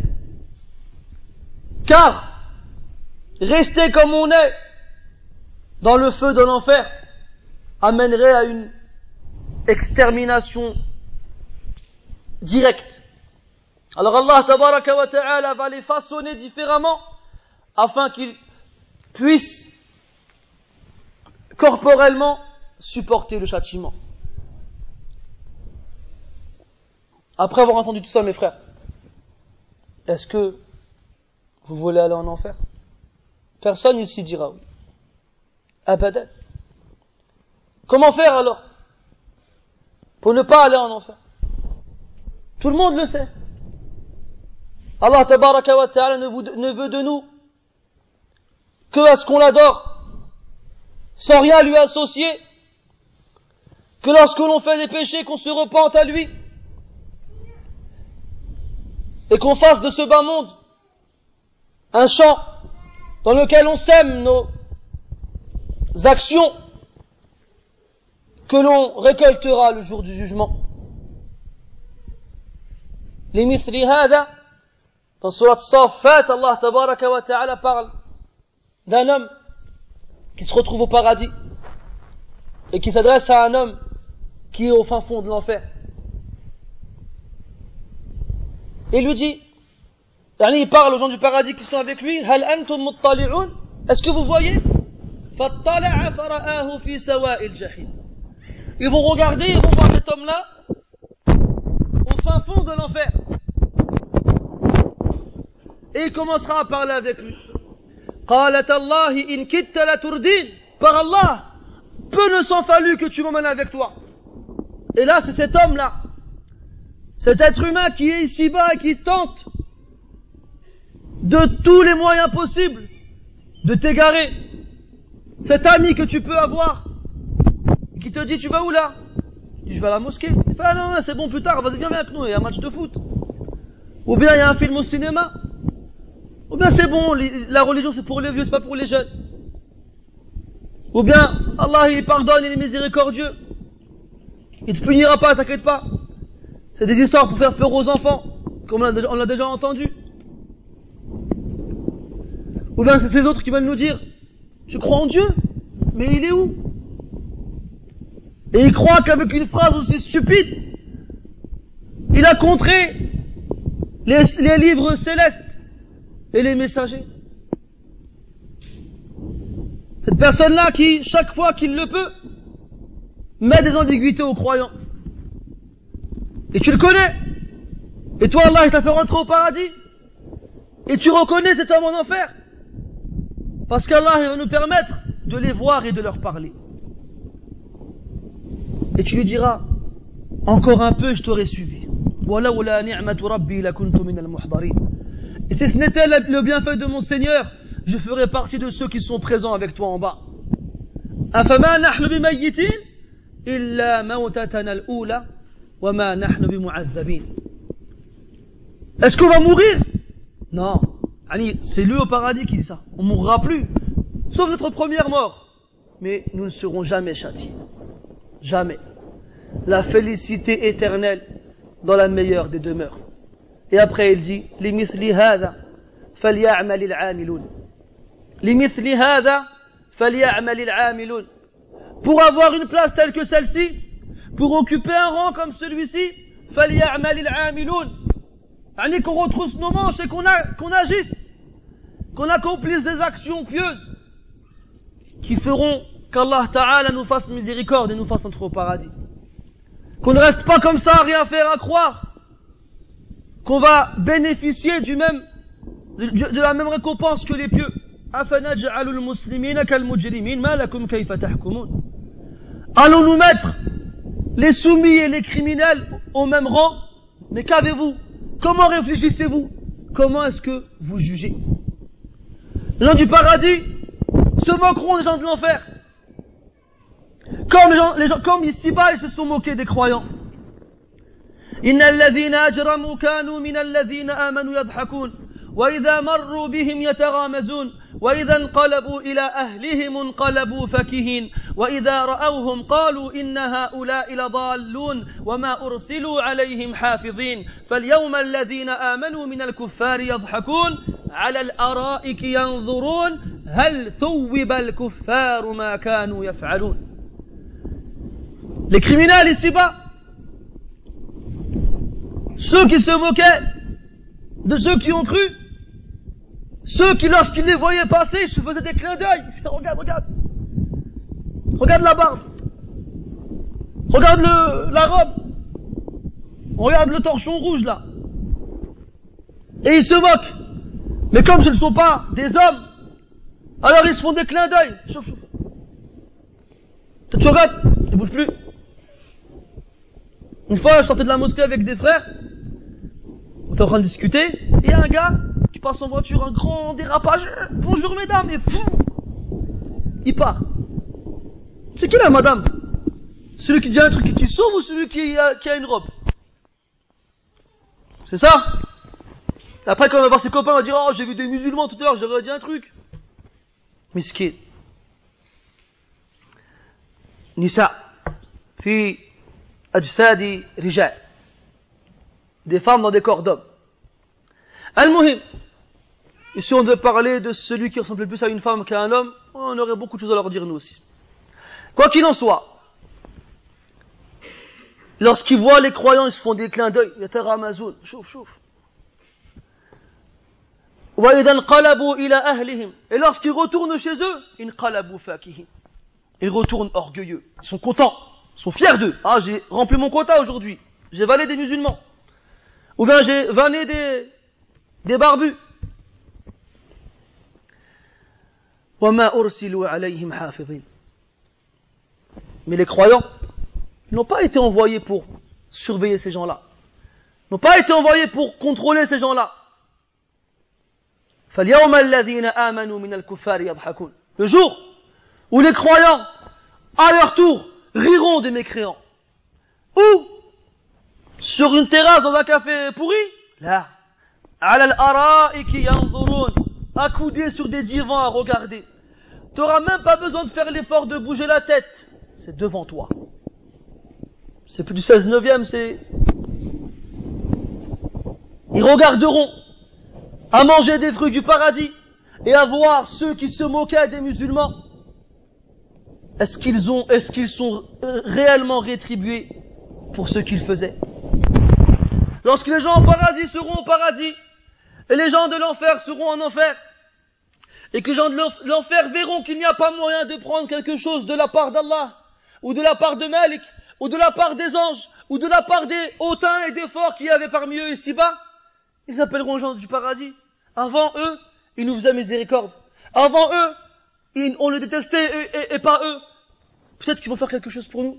Car rester comme on est dans le feu de l'enfer amènerait à une extermination directe. Alors Allah tabaraka wa ta'ala va les façonner différemment afin qu'ils puissent corporellement supporter le châtiment. Après avoir entendu tout ça mes frères, est-ce que vous voulez aller en enfer? Personne ici dira oui. Abadan. Comment faire alors pour ne pas aller en enfer? Tout le monde le sait. Allah tabaraka wa ta'ala ne veut de nous que à ce qu'on l'adore, sans rien lui associer, que lorsque l'on fait des péchés, qu'on se repente à lui, et qu'on fasse de ce bas monde un champ dans lequel on sème nos actions que l'on récoltera le jour du jugement. Limithli hada, dans Surat Saffat, Allah tabaraka wa ta'ala parle d'un homme qui se retrouve au paradis et qui s'adresse à un homme qui est au fin fond de l'enfer. Et il lui dit, il parle aux gens du paradis qui sont avec lui, Hal antum muttali'un? Est-ce que vous voyez? Fattala'a fara'ahu fi sawa'il jahim. Ils vont regarder, ils vont voir cet homme-là au fin fond de l'enfer. Et il commencera à parler avec lui. Qalat Allahi in kitta la turdin. Par Allah, peu ne s'en fallut que tu m'emmènes avec toi. Et là, c'est cet homme-là, cet être humain qui est ici-bas et qui tente de tous les moyens possibles de t'égarer, cet ami que tu peux avoir, qui te dit tu vas où là? Tu dis je vais à la mosquée. Il fait ah non, c'est bon plus tard, vas-y viens avec nous, il y a un match de foot. Ou bien il y a un film au cinéma. Ou bien c'est bon, la religion c'est pour les vieux, c'est pas pour les jeunes. Ou bien Allah il pardonne, il est miséricordieux. Il te punira pas, t'inquiète pas. C'est des histoires pour faire peur aux enfants, comme on l'a déjà entendu. Ou bien c'est ces autres qui veulent nous dire tu crois en Dieu, mais il est où? Et il croit qu'avec une phrase aussi stupide, il a contré les livres célestes et les messagers. Cette personne-là qui, chaque fois qu'il le peut, met des ambiguïtés aux croyants. Et tu le connais. Et toi, Allah, il t'a fait rentrer au paradis. Et tu reconnais cet homme en enfer. Parce qu'Allah, il va nous permettre de les voir et de leur parler. Et tu lui diras, encore un peu, je t'aurais suivi. Et si ce n'était le bienfait de mon Seigneur, je ferais partie de ceux qui sont présents avec toi en bas. Est-ce qu'on va mourir? Non. C'est lui au paradis qui dit ça. On ne mourra plus. Sauf notre première mort. Mais nous ne serons jamais châtiés. Jamais. La félicité éternelle dans la meilleure des demeures. Et après il dit لِمِثْلِ هَذَا فَلْيَعْمَلِ الْعَامِلُونَ لِمِثْلِ هَذَا فَلْيَعْمَلِ الْعَامِلُونَ. Pour avoir une place telle que celle-ci, pour occuper un rang comme celui-ci, فَلْيَعْمَلِ الْعَامِلُونَ. Qu'on retrousse nos manches et qu'on agisse, qu'on accomplisse des actions pieuses qui feront qu'Allah Ta'ala nous fasse miséricorde et nous fasse entrer au paradis. Qu'on ne reste pas comme ça à rien faire, à croire qu'on va bénéficier de la même récompense que les pieux. Allons-nous mettre les soumis et les criminels au même rang? Mais qu'avez-vous? Comment réfléchissez-vous? Comment est-ce que vous jugez? Les gens du paradis se moqueront des gens de l'enfer. Comme ici-bas, ils se sont moqués des croyants. إن الذين أجرموا كانوا من الذين آمنوا يضحكون وإذا مروا بهم يتغامزون وإذا انقلبوا إلى أهلهم انقلبوا فكهين وإذا رأوهم قالوا إن هؤلاء لضالون وما أرسلوا عليهم حافظين فاليوم الذين آمنوا من الكفار يضحكون على الأرائك ينظرون هل ثوب الكفار ما كانوا يفعلون. Les criminels ici-bas, ceux qui se moquaient de ceux qui ont cru, ceux qui lorsqu'ils les voyaient passer, se faisaient des clins d'œil. Regarde la barbe, regarde la robe, regarde le torchon rouge là. Et ils se moquent. Mais comme ce ne sont pas des hommes, alors ils se font des clins d'œil. Chauffe. Tu regardes, ne bouge plus. Une fois, je sortais de la mosquée avec des frères, on était en train de discuter, et il y a un gars qui passe en voiture, un grand dérapage, bonjour mesdames, et fou, il part. C'est qui là, madame? Celui qui dit un truc qui sauve ou celui qui a une robe? C'est ça? Après, quand on va voir ses copains, on va dire, oh, j'ai vu des musulmans tout à l'heure, j'aurais dit un truc. Miskin. Nisa. Fi ajsadi rijal. Des femmes dans des corps d'hommes. Al-Muhim. Ici, on devait parler de celui qui ressemble plus à une femme qu'à un homme. On aurait beaucoup de choses à leur dire, nous aussi. Quoi qu'il en soit, lorsqu'ils voient les croyants, ils se font des clins d'œil. Yataramazoun. Chouf. Et lorsqu'ils retournent chez eux, ils retournent orgueilleux. Ils sont contents. Ils sont fiers d'eux. Ah, j'ai rempli mon quota aujourd'hui. J'ai vanné des musulmans. Ou bien j'ai vanné des barbus. Mais les croyants n'ont pas été envoyés pour surveiller ces gens-là. N'ont pas été envoyés pour contrôler ces gens-là. Le jour où les croyants, à leur tour, riront des mécréants. Ou, sur une terrasse dans un café pourri, là, ala al-ara'iki yanzurun, accoudés sur des divans à regarder. T'auras même pas besoin de faire l'effort de bouger la tête. C'est devant toi. C'est plus du 16-9e, c'est... Ils regarderont à manger des fruits du paradis et à voir ceux qui se moquaient des musulmans. Est-ce qu'ils sont réellement rétribués pour ce qu'ils faisaient? Lorsque les gens au paradis seront au paradis et les gens de l'enfer seront en enfer, et que les gens de l'enfer verront qu'il n'y a pas moyen de prendre quelque chose de la part d'Allah, ou de la part de Malik, ou de la part des anges, ou de la part des hautains et des forts qu'il y avait parmi eux ici-bas, ils appelleront les gens du paradis. Avant eux, ils nous faisaient miséricorde. Avant eux, on les détestait et pas eux. Peut-être qu'ils vont faire quelque chose pour nous.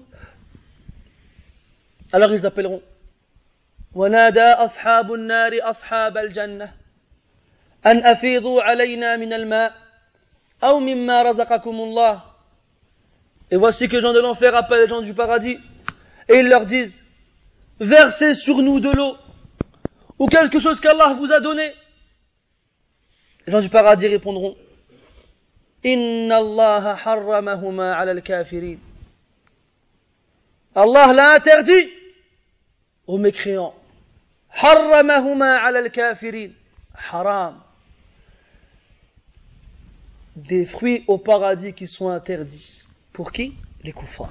Alors ils appelleront. وَنَادَى أَصْحَابُ النَّارِ أَصْحَابَ الْجَنَّةِ أَنْ أَفِيضُوا عَلَيْنَا مِنَ الْمَاءِ أَوْ مِمَّا رَزَقَكُمُ اللَّهُ. Et voici que les gens de l'enfer appellent les gens du paradis et ils leur disent: versez sur nous de l'eau ou quelque chose qu'Allah vous a donné. Les gens du paradis répondront: Inna Allah harramahuma ala al-kafirin. Allah l'a interdit aux mécréants. Harramahuma ala al-kafirin. Haram. Des fruits au paradis qui sont interdits. Pour qui? Les kuffars.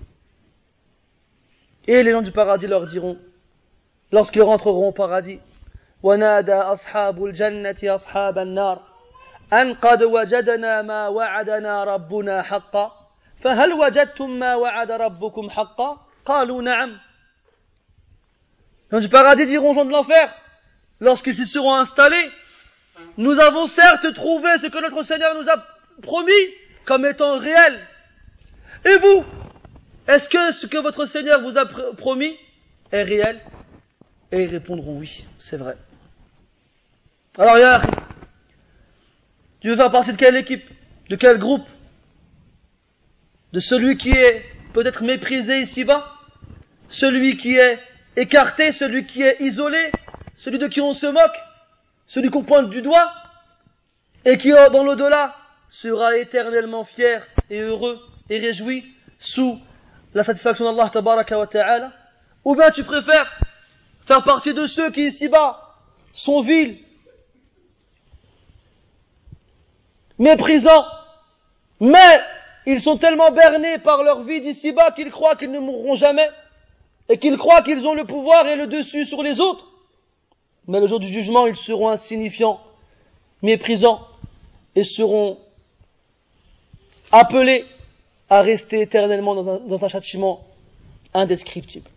Et les gens du paradis leur diront, lorsqu'ils rentreront au paradis: وَنَادَى أَصْحَابُ الْجَنَّةِ أَصْحَابَ النَّارِ أَنْ قَدْ وَجَدْنَا مَا وَعَدَنَا رَبُّنَا حَقًّا فَهَلْ وَجَدْتُمْ مَا وَعَدَ رَبُّكُمْ حَقًّا قَالُوا نَعَمْ. Les gens du paradis diront aux gens de l'enfer, lorsqu'ils s'y seront installés: nous avons certes trouvé ce que notre Seigneur nous a promis comme étant réel. Et vous, est-ce que ce que votre Seigneur vous a promis est réel? Et ils répondront: oui, c'est vrai. Alors, ya akhi, tu veux faire partie de quelle équipe? De quel groupe? De celui qui est peut-être méprisé ici-bas? Celui qui est écarté? Celui qui est isolé? Celui de qui on se moque? Celui qu'on pointe du doigt? Et qui, dans l'au-delà, sera éternellement fier et heureux et réjoui sous la satisfaction d'Allah tabaraka wa ta'ala? Ou bien tu préfères faire partie de ceux qui ici-bas sont vils, méprisants, mais ils sont tellement bernés par leur vie d'ici-bas qu'ils croient qu'ils ne mourront jamais et qu'ils croient qu'ils ont le pouvoir et le dessus sur les autres. Mais le jour du jugement, ils seront insignifiants, méprisants et seront appelés à rester éternellement dans un châtiment indescriptible.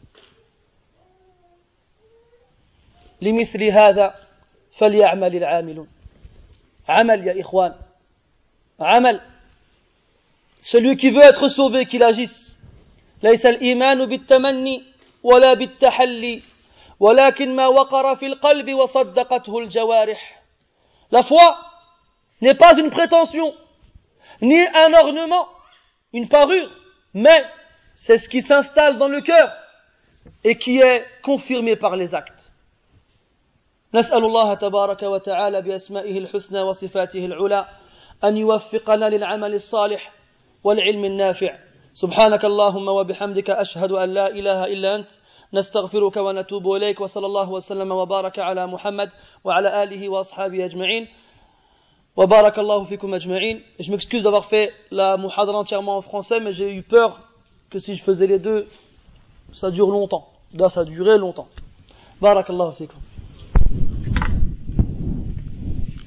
لمثل هذا فليعمل العاملون. عمل يا إخوان, عمل. Celui qui veut être sauvé, qu'il agisse. ليس الإيمان بالتمني ولا بالتحلي ولكن ما وقر في القلب وصدقته الجوارح. La foi n'est pas une prétention, ni un ornement, une parure, mais c'est ce qui s'installe dans le cœur et qui est confirmé par les actes. نسأل الله تبارك وتعالى بأسمائه الحسنى وصفاته العلى أن يوفقنا للعمل الصالح والعلم النافع. سبحانك اللهم وبحمدك أشهد أن لا إله إلا أنت نستغفرك ونتوب إليك وصلى الله وسلم وبارك على محمد وعلى آله وأصحابه أجمعين وبارك الله فيكم أجمعين. Je m'excuse d'avoir fait la muhadra entièrement en français, mais j'ai eu peur que si je faisais les deux, ça dure longtemps. Là, ça a duré longtemps. بارك الله فيكم.